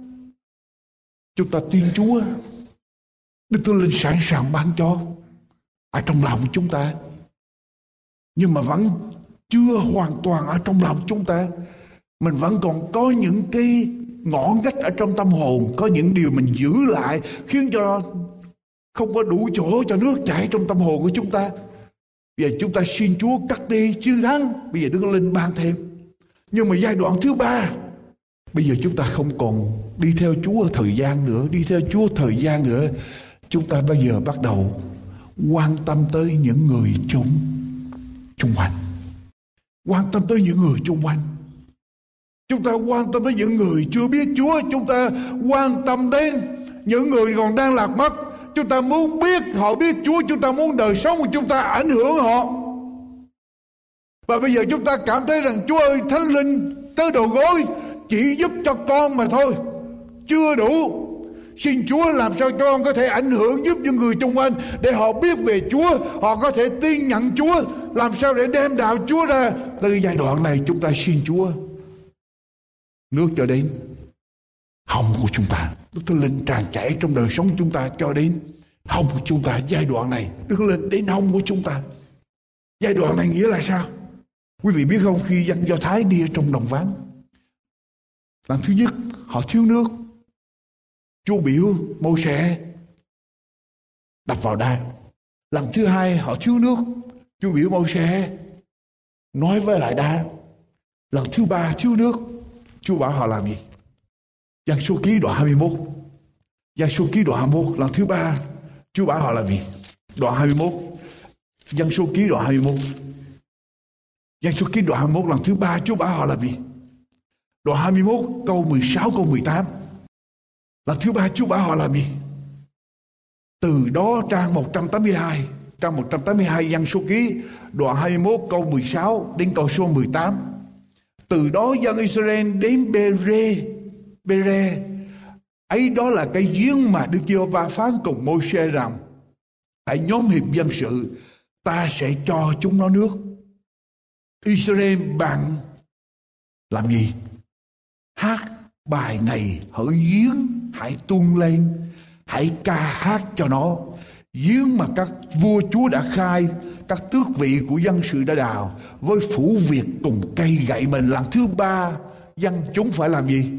Chúng ta tin Chúa, Đức Thánh Linh sẵn sàng ban cho ở trong lòng chúng ta, nhưng mà vẫn chưa hoàn toàn ở trong lòng chúng ta. Mình vẫn còn có những cái ngõ ngách ở trong tâm hồn, có những điều mình giữ lại khiến cho không có đủ chỗ cho nước chảy trong tâm hồn của chúng ta. Bây giờ chúng ta xin Chúa cắt đi chiến thắng, bây giờ Đức Thánh Linh ban thêm. Nhưng mà giai đoạn thứ ba, bây giờ chúng ta không còn đi theo Chúa thời gian nữa, đi theo Chúa thời gian nữa. Chúng ta bây giờ bắt đầu quan tâm tới những người chung chung quanh, quan tâm tới những người chung quanh. Chúng ta quan tâm tới những người chưa biết Chúa, chúng ta quan tâm đến những người còn đang lạc mất. Chúng ta muốn biết họ biết Chúa, chúng ta muốn đời sống của chúng ta ảnh hưởng họ. Và bây giờ chúng ta cảm thấy rằng Chúa ơi, Thánh Linh tới đầu gối chỉ giúp cho con mà thôi, chưa đủ. Xin Chúa làm sao cho con có thể ảnh hưởng giúp những người xung quanh để họ biết về Chúa, họ có thể tin nhận Chúa, làm sao để đem đạo Chúa ra. Từ giai đoạn này chúng ta xin Chúa nước cho đến hông của chúng ta, Đức Thánh Linh tràn chảy trong đời sống chúng ta cho đến hông của chúng ta. Giai đoạn này Đức Thánh Linh đến hông của chúng ta. Giai đoạn này nghĩa là sao? Quý vị biết không, khi dân Do Thái đi ở trong đồng vắng, lần thứ nhất họ thiếu nước, Chúa biểu Mô-se đập vào đá. Lần thứ hai họ thiếu nước, Chúa biểu Mô-se nói với lại đá. Lần thứ ba thiếu nước, Chúa bảo họ làm gì? Giăng số ký đoạn hai mươi mốt. Giăng số ký đoạn hai mươi mốt. Lần thứ ba Chúa bảo họ làm gì? Đoạn hai mươi mốt. Giăng số ký đoạn hai mươi mốt. Giăng số ký đoạn hai mươi mốt. Lần thứ ba Chúa bảo họ làm gì? Đoạn hai mươi mốt câu mười sáu câu mười tám. Lần thứ ba Chúa bảo họ làm gì? Từ đó trang một trăm tám mươi hai, trang một trăm tám mươi hai Giăng số ký đoạn hai mươi mốt câu mười sáu đến câu số mười tám. Từ đó dân Israel đến Bê-rê, Bê-rê, ấy đó là cái giếng mà Đức Giê-hô-va phán cùng Mô-se rằng hãy nhóm hiệp dân sự, ta sẽ cho chúng nó nước. Israel bạn làm gì? Hát bài này hỡi giếng, hãy tuôn lên, hãy ca hát cho nó. Giếng mà các vua chúa đã khai, các tước vị của dân sự đã đào, với phủ Việt cùng cây gậy mình. Lần thứ ba dân chúng phải làm gì?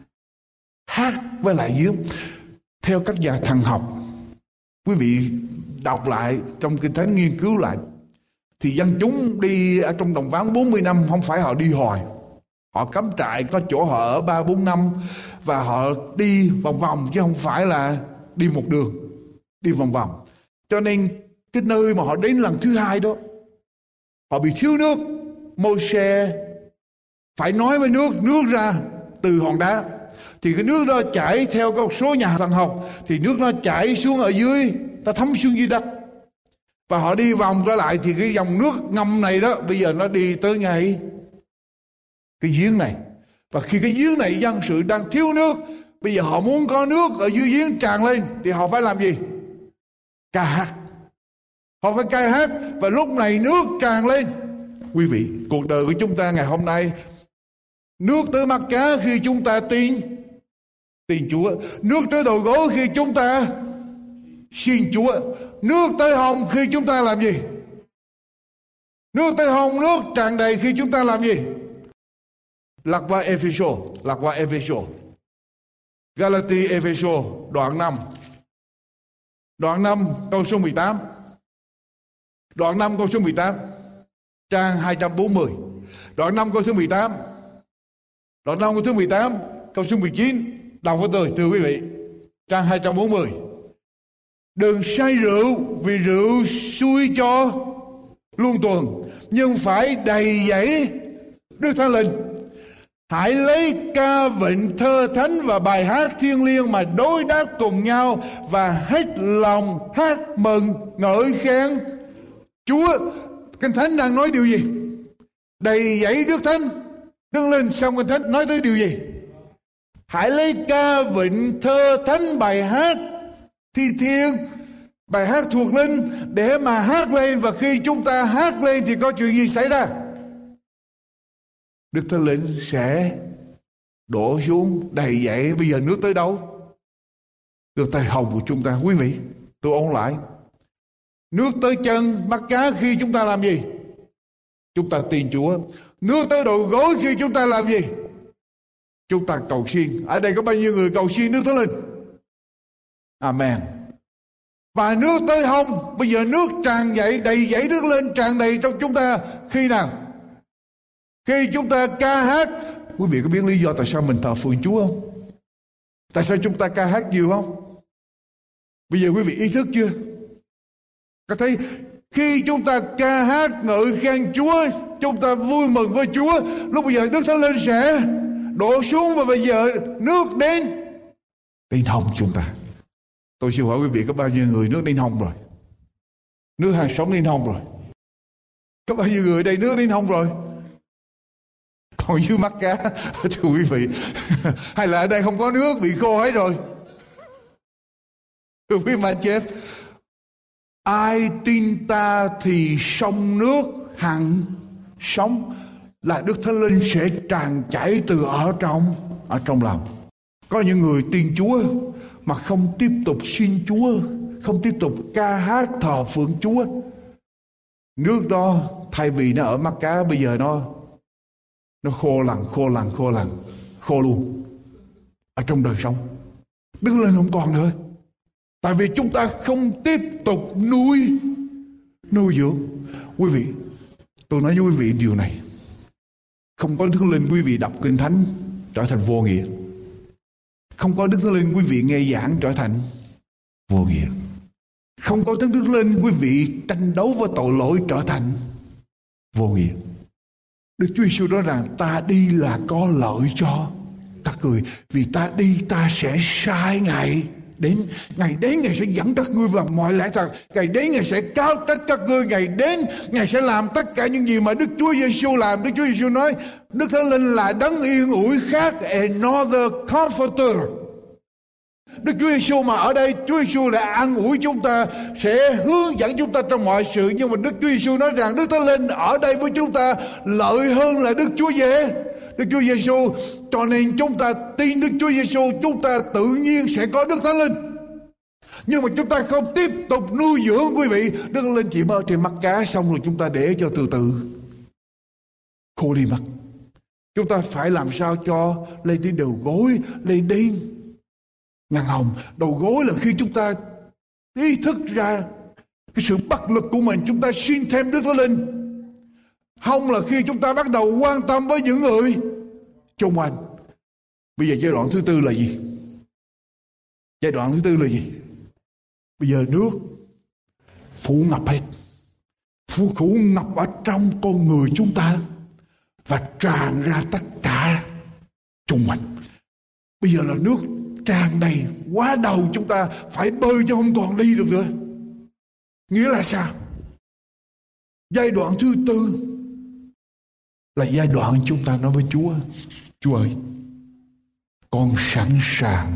Hát với lại giếng. Theo các nhà thần học, quý vị đọc lại trong Kinh Thánh, nghiên cứu lại, thì dân chúng đi ở trong đồng vắng bốn mươi năm không phải họ đi hoài. Họ cắm trại, có chỗ họ ở ba bốn năm, và họ đi vòng vòng chứ không phải là đi một đường, đi vòng vòng. Cho nên cái nơi mà họ đến lần thứ hai đó, họ bị thiếu nước. Mô-se phải nói với nước, nước ra từ hòn đá. Thì cái nước đó chảy theo một số nhà thần học, thì nước nó chảy xuống ở dưới, ta thấm xuống dưới đất. Và họ đi vòng trở lại thì cái dòng nước ngầm này đó, bây giờ nó đi tới ngay cái giếng này. Và khi cái giếng này dân sự đang thiếu nước, bây giờ họ muốn có nước ở dưới giếng tràn lên, thì họ phải làm gì? Ca hát. Họ phải ca hát. Và lúc này nước tràn lên. Quý vị, cuộc đời của chúng ta ngày hôm nay, nước tới mắt cá khi chúng ta tin tin Chúa. Nước tới đầu gối khi chúng ta xin Chúa. Nước tới hông khi chúng ta làm gì? Nước tới hông, nước tràn đầy khi chúng ta làm gì? Lạc qua Ephesos, lạc qua Ephesos. Galati Ephesos đoạn năm. Đoạn năm câu số mười tám. Đoạn năm câu số mười tám. Trang hai trăm bốn mươi. Đoạn năm câu số mười tám. Đoạn năm câu số mười tám, câu số mười chín. Đọc với tôi thưa quý vị. Trang hai trăm bốn mươi. Đừng say rượu, vì rượu xui cho luôn tuần, nhưng phải đầy dẫy Đức Thánh Linh. Hãy lấy ca vịnh thơ thánh và bài hát thiêng liêng mà đối đáp cùng nhau, và hết lòng hát mừng ngợi khen Chúa. Kinh Thánh đang nói điều gì? Đầy dẫy Đức Thánh Đức Linh. Xong Kinh Thánh nói tới điều gì? Hãy lấy ca vịnh thơ thánh, bài hát thi thiên, bài hát thuộc linh để mà hát lên. Và khi chúng ta hát lên thì có chuyện gì xảy ra? Đức Thánh Linh sẽ đổ xuống đầy dẫy. Bây giờ nước tới đâu? Nước tới hông của chúng ta. Quý vị, tôi ôn lại. Nước tới chân mắt cá khi chúng ta làm gì? Chúng ta tin Chúa. Nước tới đầu gối khi chúng ta làm gì? Chúng ta cầu xin. Ở đây có bao nhiêu người cầu xin nước Thánh Linh? Amen. Và nước tới hông, bây giờ nước tràn dậy, đầy dẫy nước lên, tràn đầy trong chúng ta khi nào? Khi chúng ta ca hát. Quý vị có biết lý do tại sao mình thờ phượng Chúa không? Tại sao chúng ta ca hát nhiều không? Bây giờ quý vị ý thức chưa? Có thấy khi chúng ta ca hát ngợi khen Chúa, chúng ta vui mừng với Chúa, lúc bây giờ Đức Thánh Linh sẽ đổ xuống. Và bây giờ nước đến đến hông chúng ta. Tôi xin hỏi quý vị có bao nhiêu người nước đến hông rồi? Nước hàng sống đến hông rồi? Có bao nhiêu người đây nước đến hông rồi? Còn dưới mắt cá thưa quý vị. Hay là ở đây không có nước, bị khô hết rồi? Thưa quý mà chép, ai tin ta thì sông nước hằng sống, là Đức Thánh Linh sẽ tràn chảy từ ở trong ở trong lòng. Có những người tin Chúa mà không tiếp tục xin Chúa, không tiếp tục ca hát thờ phượng Chúa. Nước đó thay vì nó ở mắt cá, bây giờ nó nó khô lằn, khô lằn, khô lằn, khô luôn ở trong đời sống. Đức Linh không còn nữa. Tại vì chúng ta không tiếp tục nuôi nuôi dưỡng. Quý vị, tôi nói với quý vị điều này. Không có Đức Linh, quý vị đọc Kinh Thánh trở thành vô nghĩa. Không có Đức Thánh Linh, quý vị nghe giảng trở thành vô nghĩa. Không có Đức Linh, quý vị tranh đấu với tội lỗi trở thành vô nghĩa. Đức Chúa Giêsu nói rằng ta đi là có lợi cho các người, vì ta đi ta sẽ sai Ngài đến. Ngài đến, Ngài sẽ dẫn các ngươi vào mọi lẽ thật. Ngài đến, Ngài sẽ cáo trách các ngươi. Ngài đến, Ngài sẽ làm tất cả những gì mà Đức Chúa Giêsu làm. Đức Chúa Giêsu nói Đức Thánh Linh là đấng yên ủi khác, another comforter. Đức Chúa Giêsu mà ở đây, Chúa Giêsu đã an ủi chúng ta, sẽ hướng dẫn chúng ta trong mọi sự. Nhưng mà Đức Chúa Giêsu nói rằng Đức Thánh Linh ở đây với chúng ta lợi hơn là Đức Chúa Giê, Đức Chúa Giêsu. Cho nên chúng ta tin Đức Chúa Giêsu, chúng ta tự nhiên sẽ có Đức Thánh Linh. Nhưng mà chúng ta không tiếp tục nuôi dưỡng, quý vị, Đức Thánh Linh chỉ mơ trên mắt cá, xong rồi chúng ta để cho từ từ khô đi mất. Chúng ta phải làm sao cho lên đến đầu gối, lên đến ngàn hồng. Đầu gối là khi chúng ta ý thức ra cái sự bất lực của mình, chúng ta xin thêm Đức Thánh Linh. Hông là khi chúng ta bắt đầu quan tâm với những người xung quanh. Bây giờ giai đoạn thứ tư là gì? Giai đoạn thứ tư là gì? Bây giờ nước phủ ngập hết, phủ phủ ngập ở trong con người chúng ta và tràn ra tất cả xung quanh. Bây giờ là nước tràn đầy quá đầu, chúng ta phải bơi chứ không còn đi được nữa. Nghĩa là sao? Giai đoạn thứ tư là giai đoạn chúng ta nói với Chúa: Chúa ơi, con sẵn sàng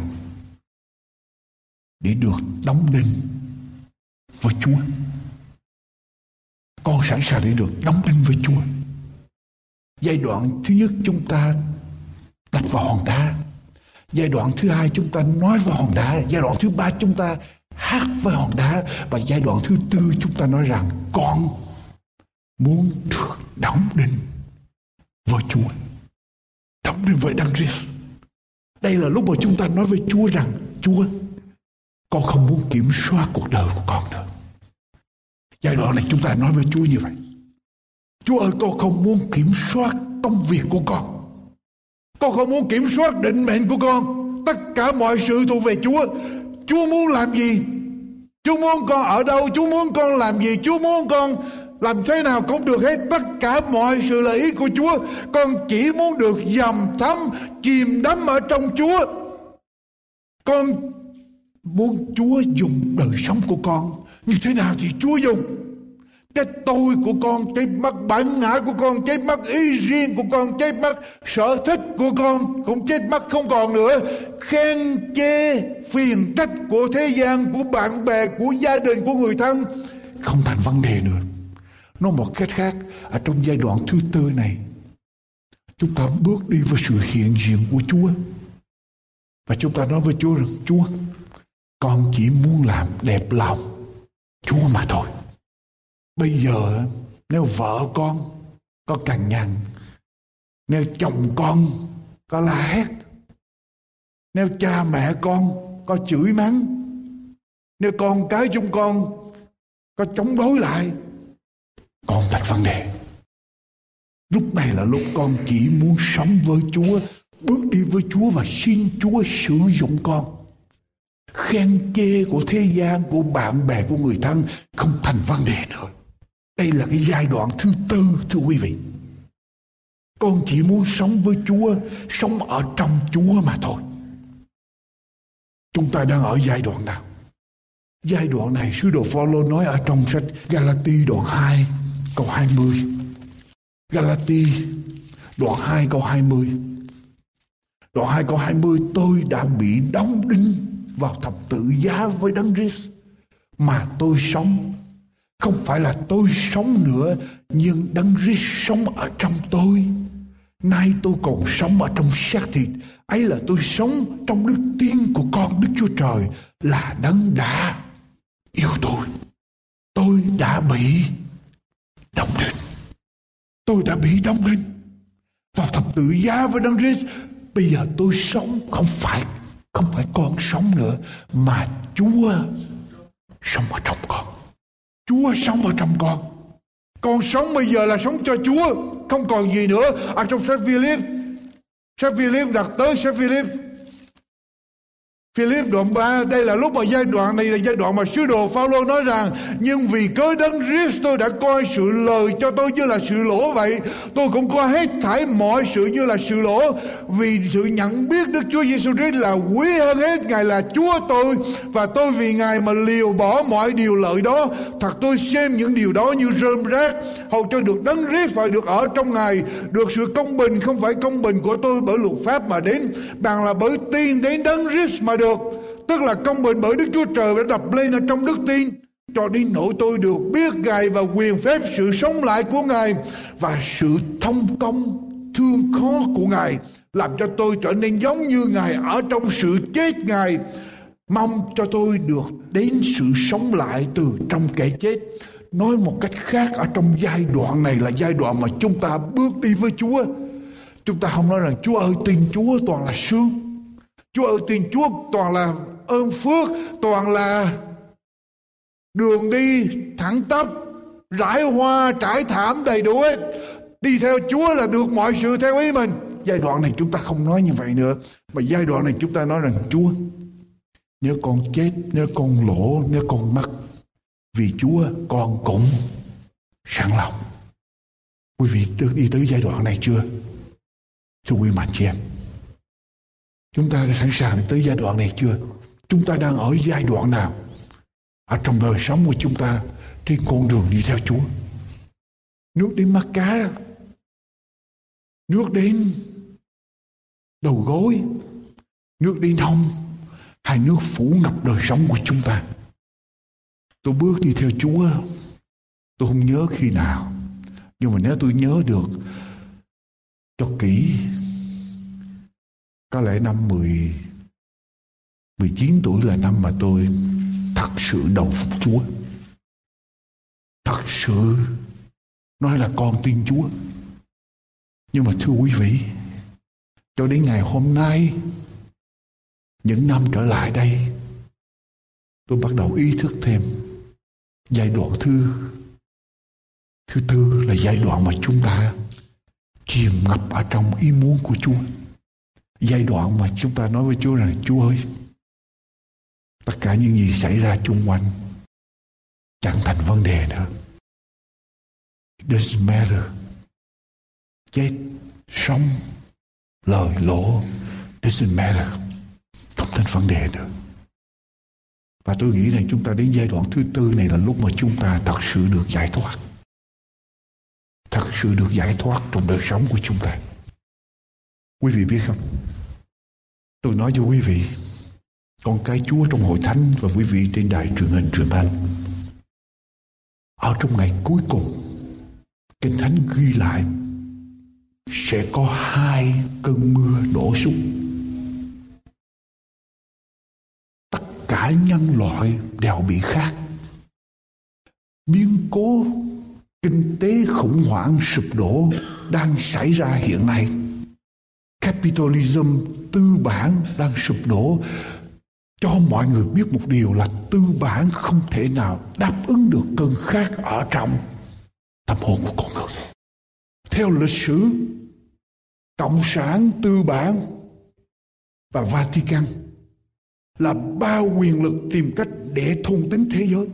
để được đóng đinh với Chúa. Con sẵn sàng để được đóng đinh với Chúa. Giai đoạn thứ nhất chúng ta đập vào hòn đá. Giai đoạn thứ hai chúng ta nói với hòn đá. Giai đoạn thứ ba chúng ta hát với hòn đá. Và giai đoạn thứ tư chúng ta nói rằng con muốn được đóng đinh với Chúa, đóng đinh với Đấng Christ. Đây là lúc mà chúng ta nói với Chúa rằng Chúa, con không muốn kiểm soát cuộc đời của con nữa. Giai đoạn này chúng ta nói với Chúa như vậy. Chúa ơi, con không muốn kiểm soát công việc của con. Con không muốn kiểm soát định mệnh của con. Tất cả mọi sự thuộc về Chúa. Chúa muốn làm gì? Chúa muốn con ở đâu? Chúa muốn con làm gì? Chúa muốn con làm thế nào cũng được hết. Tất cả mọi sự là ý của Chúa. Con chỉ muốn được dầm thấm, chìm đắm ở trong Chúa. Con muốn Chúa dùng đời sống của con. Như thế nào thì Chúa dùng. Cái tôi của con chết mất, bản ngã của con chết mất, ý riêng của con chết mất, sở thích của con cũng chết mất không còn nữa. Khen chê phiền trách của thế gian, của bạn bè, của gia đình, của người thân không thành vấn đề nữa. Nói một cách khác, ở trong giai đoạn thứ tư này, chúng ta bước đi với sự hiện diện của Chúa. Và chúng ta nói với Chúa rằng Chúa, con chỉ muốn làm đẹp lòng Chúa mà thôi. Bây giờ nếu vợ con có cằn nhằn, nếu chồng con có la hét, nếu cha mẹ con có chửi mắng, nếu con cái chúng con có chống đối lại, con thành vấn đề. Lúc này là lúc con chỉ muốn sống với Chúa, bước đi với Chúa và xin Chúa sử dụng con. Khen chê của thế gian, của bạn bè, của người thân không thành vấn đề nữa. Đây là cái giai đoạn thứ tư, thưa quý vị. Con chỉ muốn sống với Chúa, sống ở trong Chúa mà thôi. Chúng ta đang ở giai đoạn nào? Giai đoạn này sứ đồ Phaolô nói ở trong sách Galati đoạn hai câu hai mươi. Galati đoạn hai câu hai mươi. Đoạn hai câu hai mươi, tôi đã bị đóng đinh vào thập tự giá với Đấng Christ, mà tôi sống không phải là tôi sống nữa, nhưng Đấng Christ sống ở trong tôi. Nay tôi còn sống ở trong xác thịt, ấy là tôi sống trong đức tin của con Đức Chúa Trời là Đấng đã yêu tôi. Tôi đã bị đóng đinh. Tôi đã bị đóng đinh vào thập tự giá với Đấng Christ. Bây giờ tôi sống không phải không phải con sống nữa, mà Chúa sống ở trong con. Chúa sống ở trong con. Con sống bây giờ là sống cho Chúa, không còn gì nữa. Ở trong sách Philip, sách Philip đặt tới sách Philip, Philip đoạn ba, đây là lúc mà giai đoạn này là giai đoạn mà sứ đồ Phaolô nói rằng: nhưng vì cớ Đấng Christ tôi đã coi sự lời cho tôi như là sự lỗ vậy, tôi cũng coi hết thảy mọi sự như là sự lỗ, vì sự nhận biết Đức Chúa Giêsu Christ là quý hơn hết. Ngài là Chúa tôi, và tôi vì Ngài mà liều bỏ mọi điều lợi đó. Thật tôi xem những điều đó như rơm rác, hầu cho được Đấng Christ phải được ở trong Ngài, được sự công bình không phải công bình của tôi bởi luật pháp mà đến, bằng là bởi tin đến Đấng Christ mà được. Tức là công bình bởi Đức Chúa Trời đã đập lên ở trong đức tin, cho đến nỗi tôi được biết Ngài và quyền phép sự sống lại của Ngài và sự thông công thương khó của Ngài, làm cho tôi trở nên giống như Ngài ở trong sự chết Ngài. Mong cho tôi được đến sự sống lại từ trong kẻ chết. Nói một cách khác, ở trong giai đoạn này là giai đoạn mà chúng ta bước đi với Chúa. Chúng ta không nói rằng Chúa ơi tin Chúa toàn là sướng, Chúa ơi tin Chúa toàn là ơn phước, toàn là đường đi thẳng tắp, rải hoa trải thảm đầy đủ hết. Đi theo Chúa là được mọi sự theo ý mình. Giai đoạn này chúng ta không nói như vậy nữa, mà giai đoạn này chúng ta nói rằng Chúa, nếu con chết, nếu con lỗ, nếu con mất, vì Chúa con cũng sẵn lòng. Quý vị đi tới giai đoạn này chưa? Thưa quý mạnh chị em, chúng ta đã sẵn sàng tới giai đoạn này chưa? Chúng ta đang ở giai đoạn nào ở trong đời sống của chúng ta trên con đường đi theo Chúa? Nước đến mắt cá, nước đến đầu gối, nước đến hông, hay nước phủ ngập đời sống của chúng ta? Tôi bước đi theo Chúa, tôi không nhớ khi nào, nhưng mà nếu tôi nhớ được cho kỹ, Có lẽ năm mười, mười chín tuổi là năm mà tôi thật sự đầu phục Chúa. Thật sự nói là con tin Chúa. Nhưng mà thưa quý vị, cho đến ngày hôm nay, những năm trở lại đây, tôi bắt đầu ý thức thêm giai đoạn thứ thứ tư là giai đoạn mà chúng ta chìm ngập ở trong ý muốn của Chúa. Giai đoạn mà chúng ta nói với Chúa rằng: Chúa ơi, tất cả những gì xảy ra chung quanh chẳng thành vấn đề nữa. It doesn't matter. Chết, sống, lời lỗ, doesn't matter. Không thành vấn đề nữa. Và tôi nghĩ rằng chúng ta đến giai đoạn thứ tư này là lúc mà chúng ta thật sự được giải thoát. Thật sự được giải thoát trong đời sống của chúng ta. Quý vị biết không? Tôi nói cho quý vị, con cái Chúa trong hội thánh và quý vị trên đài truyền hình truyền thanh, ở trong ngày cuối cùng, Kinh Thánh ghi lại sẽ có hai cơn mưa đổ xuống. Tất cả nhân loại đều bị khát. Biến cố kinh tế khủng hoảng sụp đổ đang xảy ra hiện nay. Capitalism, tư bản đang sụp đổ, cho mọi người biết một điều là tư bản không thể nào đáp ứng được cơn khát ở trong tâm hồn của con người. Theo lịch sử, Cộng sản, tư bản và Vatican là ba quyền lực tìm cách để thôn tính thế giới.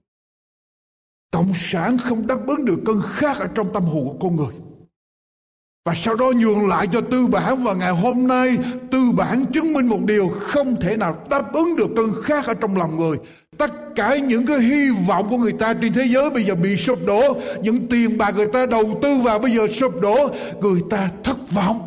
Cộng sản không đáp ứng được cơn khát ở trong tâm hồn của con người, và sau đó nhường lại cho tư bản, và ngày hôm nay tư bản chứng minh một điều: không thể nào đáp ứng được cơn khát ở trong lòng người. Tất cả những cái hy vọng của người ta trên thế giới bây giờ bị sụp đổ. Những tiền bạc người ta đầu tư vào bây giờ sụp đổ. Người ta thất vọng.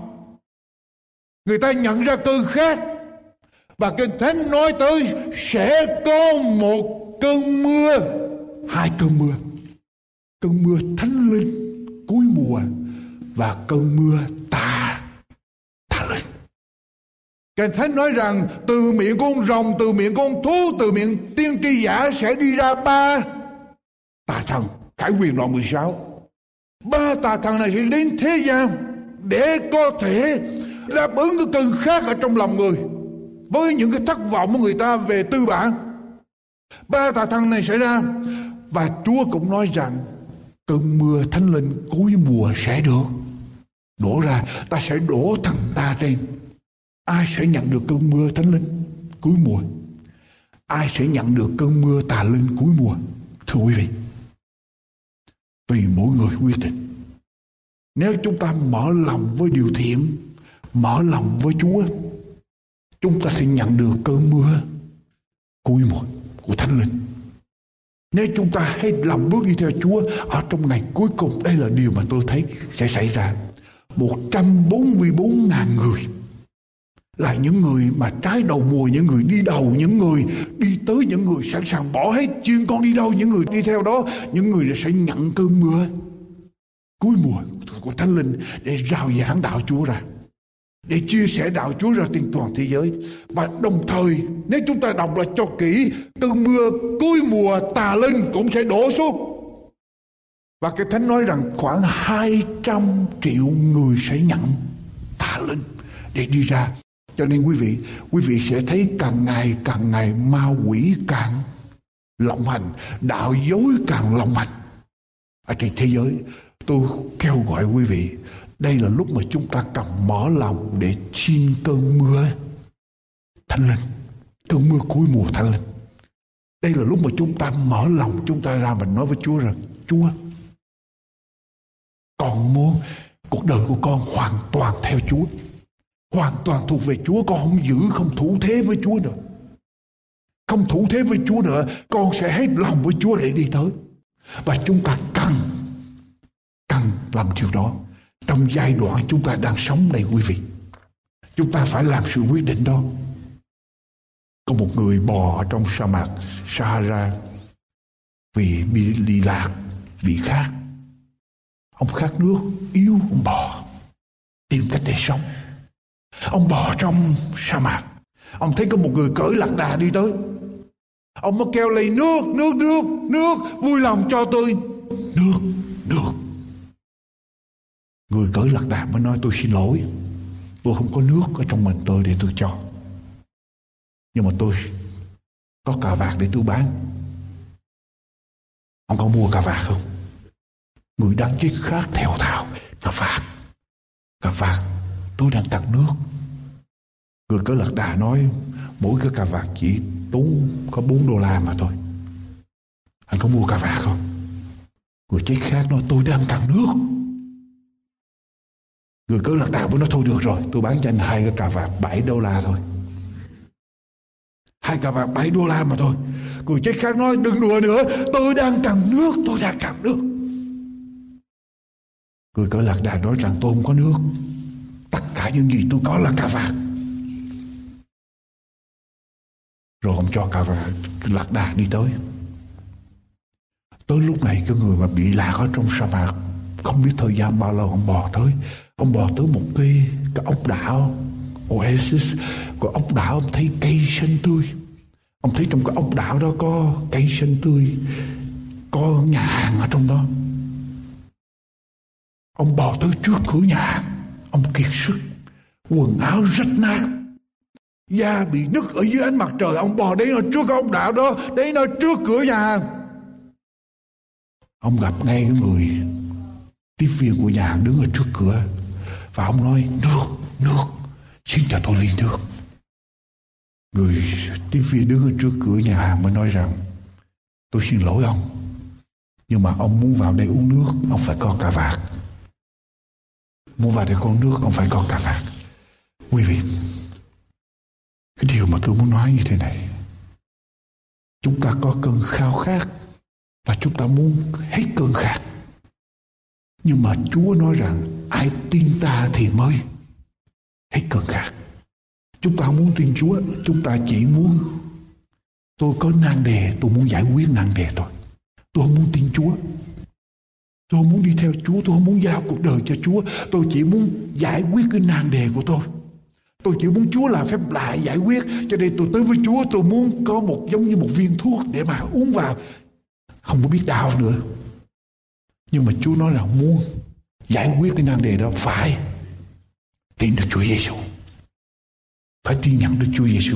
Người ta nhận ra cơn khát. Và Kinh Thánh nói tới sẽ có một cơn mưa, hai cơn mưa. Cơn mưa thánh linh cuối mùa và cơn mưa tà tà linh. Kinh Thánh nói rằng từ miệng con rồng, từ miệng con thú, từ miệng tiên tri giả sẽ đi ra ba tà thần. Khải Huyền đoạn mười sáu. Ba tà thần này sẽ đến thế gian để có thể đáp ứng cái cơn khát ở trong lòng người, với những cái thất vọng của người ta về tư bản. Ba tà thần này sẽ ra, và Chúa cũng nói rằng cơn mưa thánh linh cuối mùa sẽ được đổ ra. Ta sẽ đổ thần ta trên. Ai sẽ nhận được cơn mưa thánh linh cuối mùa? Ai sẽ nhận được cơn mưa tà linh cuối mùa? Thưa quý vị, tùy mỗi người quyết định. Nếu chúng ta mở lòng với điều thiện, mở lòng với Chúa, chúng ta sẽ nhận được cơn mưa cuối mùa của thánh linh. Nếu chúng ta hãy làm bước đi theo Chúa ở trong ngày cuối cùng, đây là điều mà tôi thấy sẽ xảy ra. một trăm bốn mươi bốn nghìn người là những người mà trái đầu mùa, những người đi đầu, những người đi tới, những người sẵn sàng bỏ hết chuyên con đi đâu, những người đi theo đó, những người sẽ nhận cơn mưa cuối mùa của Thánh Linh để rao giảng đạo Chúa ra, để chia sẻ đạo Chúa ra trên toàn thế giới. Và đồng thời nếu chúng ta đọc lại cho kỹ, cơn mưa cuối mùa tà linh cũng sẽ đổ xuống. Và cái Thánh nói rằng khoảng hai trăm triệu người sẽ nhận tà linh để đi ra. Cho nên quý vị, quý vị sẽ thấy càng ngày càng ngày ma quỷ càng lộng hành, đạo dối càng lộng hành ở trên thế giới. Tôi kêu gọi quý vị, đây là lúc mà chúng ta cần mở lòng để xin cơn mưa Thánh Linh, cơn mưa cuối mùa Thánh Linh. Đây là lúc mà chúng ta mở lòng, chúng ta ra và nói với Chúa rằng: Chúa, con muốn cuộc đời của con hoàn toàn theo Chúa, hoàn toàn thuộc về Chúa. Con không giữ, không thủ thế với Chúa nữa, không thủ thế với Chúa nữa. Con sẽ hết lòng với Chúa để đi tới. Và chúng ta cần cần làm điều đó trong giai đoạn chúng ta đang sống này quý vị. Chúng ta phải làm sự quyết định đó. Có một người bò ở trong sa mạc Sahara vì bị đi lạc, bị khát. Ông khát nước, yếu, ông bò tìm cách để sống. Ông bò trong sa mạc. Ông thấy có một người cưỡi lạc đà đi tới. Ông mới kêu lên nước, nước, nước, nước, vui lòng cho tôi nước, nước. Người cưỡi lạc đà mới nói tôi xin lỗi, tôi không có nước ở trong mình tôi để tôi cho. Nhưng mà tôi có cà vạt để tôi bán. Ông có mua cà vạt không? Người đang chết khát thều thào. Cà vạt, cà vạt, tôi đang cần nước. Người cưỡi lạc đà nói mỗi cái cà vạt chỉ tốn có bốn đô la mà thôi. Anh có mua cà vạt không? Người chết khát nói tôi đang cần nước. Người cưỡi lạc đà mới nói thôi được rồi, tôi bán cho anh hai cái cà vạt bảy đô la thôi. Hai cà vạt bảy đô la mà thôi. Người chết khát nói đừng đùa nữa, tôi đang cần nước, tôi đang cần nước. Người cưỡi lạc đà nói rằng tôi không có nước, tất cả những gì tôi có là cà vạt. Rồi ông cho cà vạt lạc đà đi tới. Tới lúc này cái người mà bị lạc ở trong sa mạc, không biết thời gian bao lâu ông bò tới. Ông bò tới một cái, cái ốc đảo Oasis. Của ốc đảo ông thấy cây xanh tươi. Ông thấy trong cái ốc đảo đó có cây xanh tươi, có nhà hàng ở trong đó. Ông bò tới trước cửa nhà hàng. Ông kiệt sức, quần áo rách nát, da bị nứt ở dưới ánh mặt trời. Ông bò đến ở trước cái ốc đảo đó, đến ở trước cửa nhà hàng. Ông gặp ngay cái người tiếp viên của nhà hàng đứng ở trước cửa. Và ông nói nước, nước, xin cho tôi ly nước. Người tiếp viên đứng ở trước cửa nhà hàng mới nói rằng tôi xin lỗi ông, nhưng mà ông muốn vào đây uống nước, ông phải có cà vạt. Muốn vào đây có nước, ông phải có cà vạt. Quý vị, cái điều mà tôi muốn nói như thế này, chúng ta có cơn khao khát và chúng ta muốn hết cơn khát. Nhưng mà Chúa nói rằng ai tin ta thì mới hết cơn khát. Chúng ta không muốn tin Chúa, chúng ta chỉ muốn tôi có nan đề, tôi muốn giải quyết nan đề thôi. Tôi không muốn tin Chúa, tôi không muốn đi theo Chúa, tôi không muốn giao cuộc đời cho Chúa. Tôi chỉ muốn giải quyết cái nan đề của tôi. Tôi chỉ muốn Chúa làm phép lạ giải quyết. Cho nên tôi tới với Chúa, tôi muốn có một giống như một viên thuốc để mà uống vào, không có biết đau nữa. Nhưng mà Chúa nói rằng muốn giải quyết cái nan đề đó phải tin được Chúa Giêsu, phải tin nhận được Chúa Giêsu.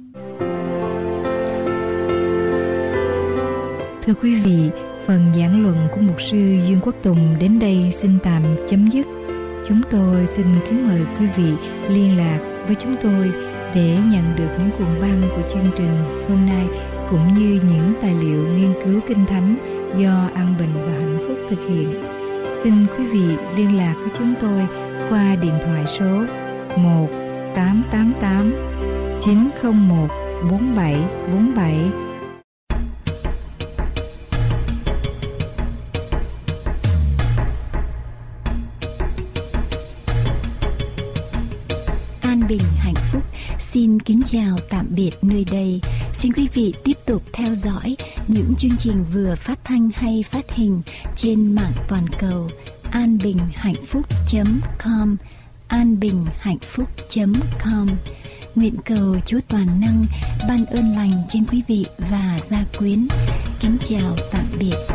Thưa quý vị, phần giảng luận của mục sư Dương Quốc Tùng đến đây xin tạm chấm dứt. Chúng tôi xin kính mời quý vị liên lạc với chúng tôi để nhận được những cuộn băng của chương trình hôm nay, cũng như những tài liệu nghiên cứu Kinh Thánh do An Bình và Hạnh Phúc thực hiện. Xin quý vị liên lạc với chúng tôi qua điện thoại số một tám tám tám chín không một bốn bảy bốn bảy. An Bình Hạnh Phúc xin kính chào tạm biệt nơi đây. Xin quý vị tiếp tục theo dõi những chương trình vừa phát thanh hay phát hình trên mạng toàn cầu an bình hạnh phúc chấm com, an bình hạnh phúc chấm com. Nguyện cầu Chúa toàn năng ban ơn lành trên quý vị và gia quyến. Kính chào tạm biệt.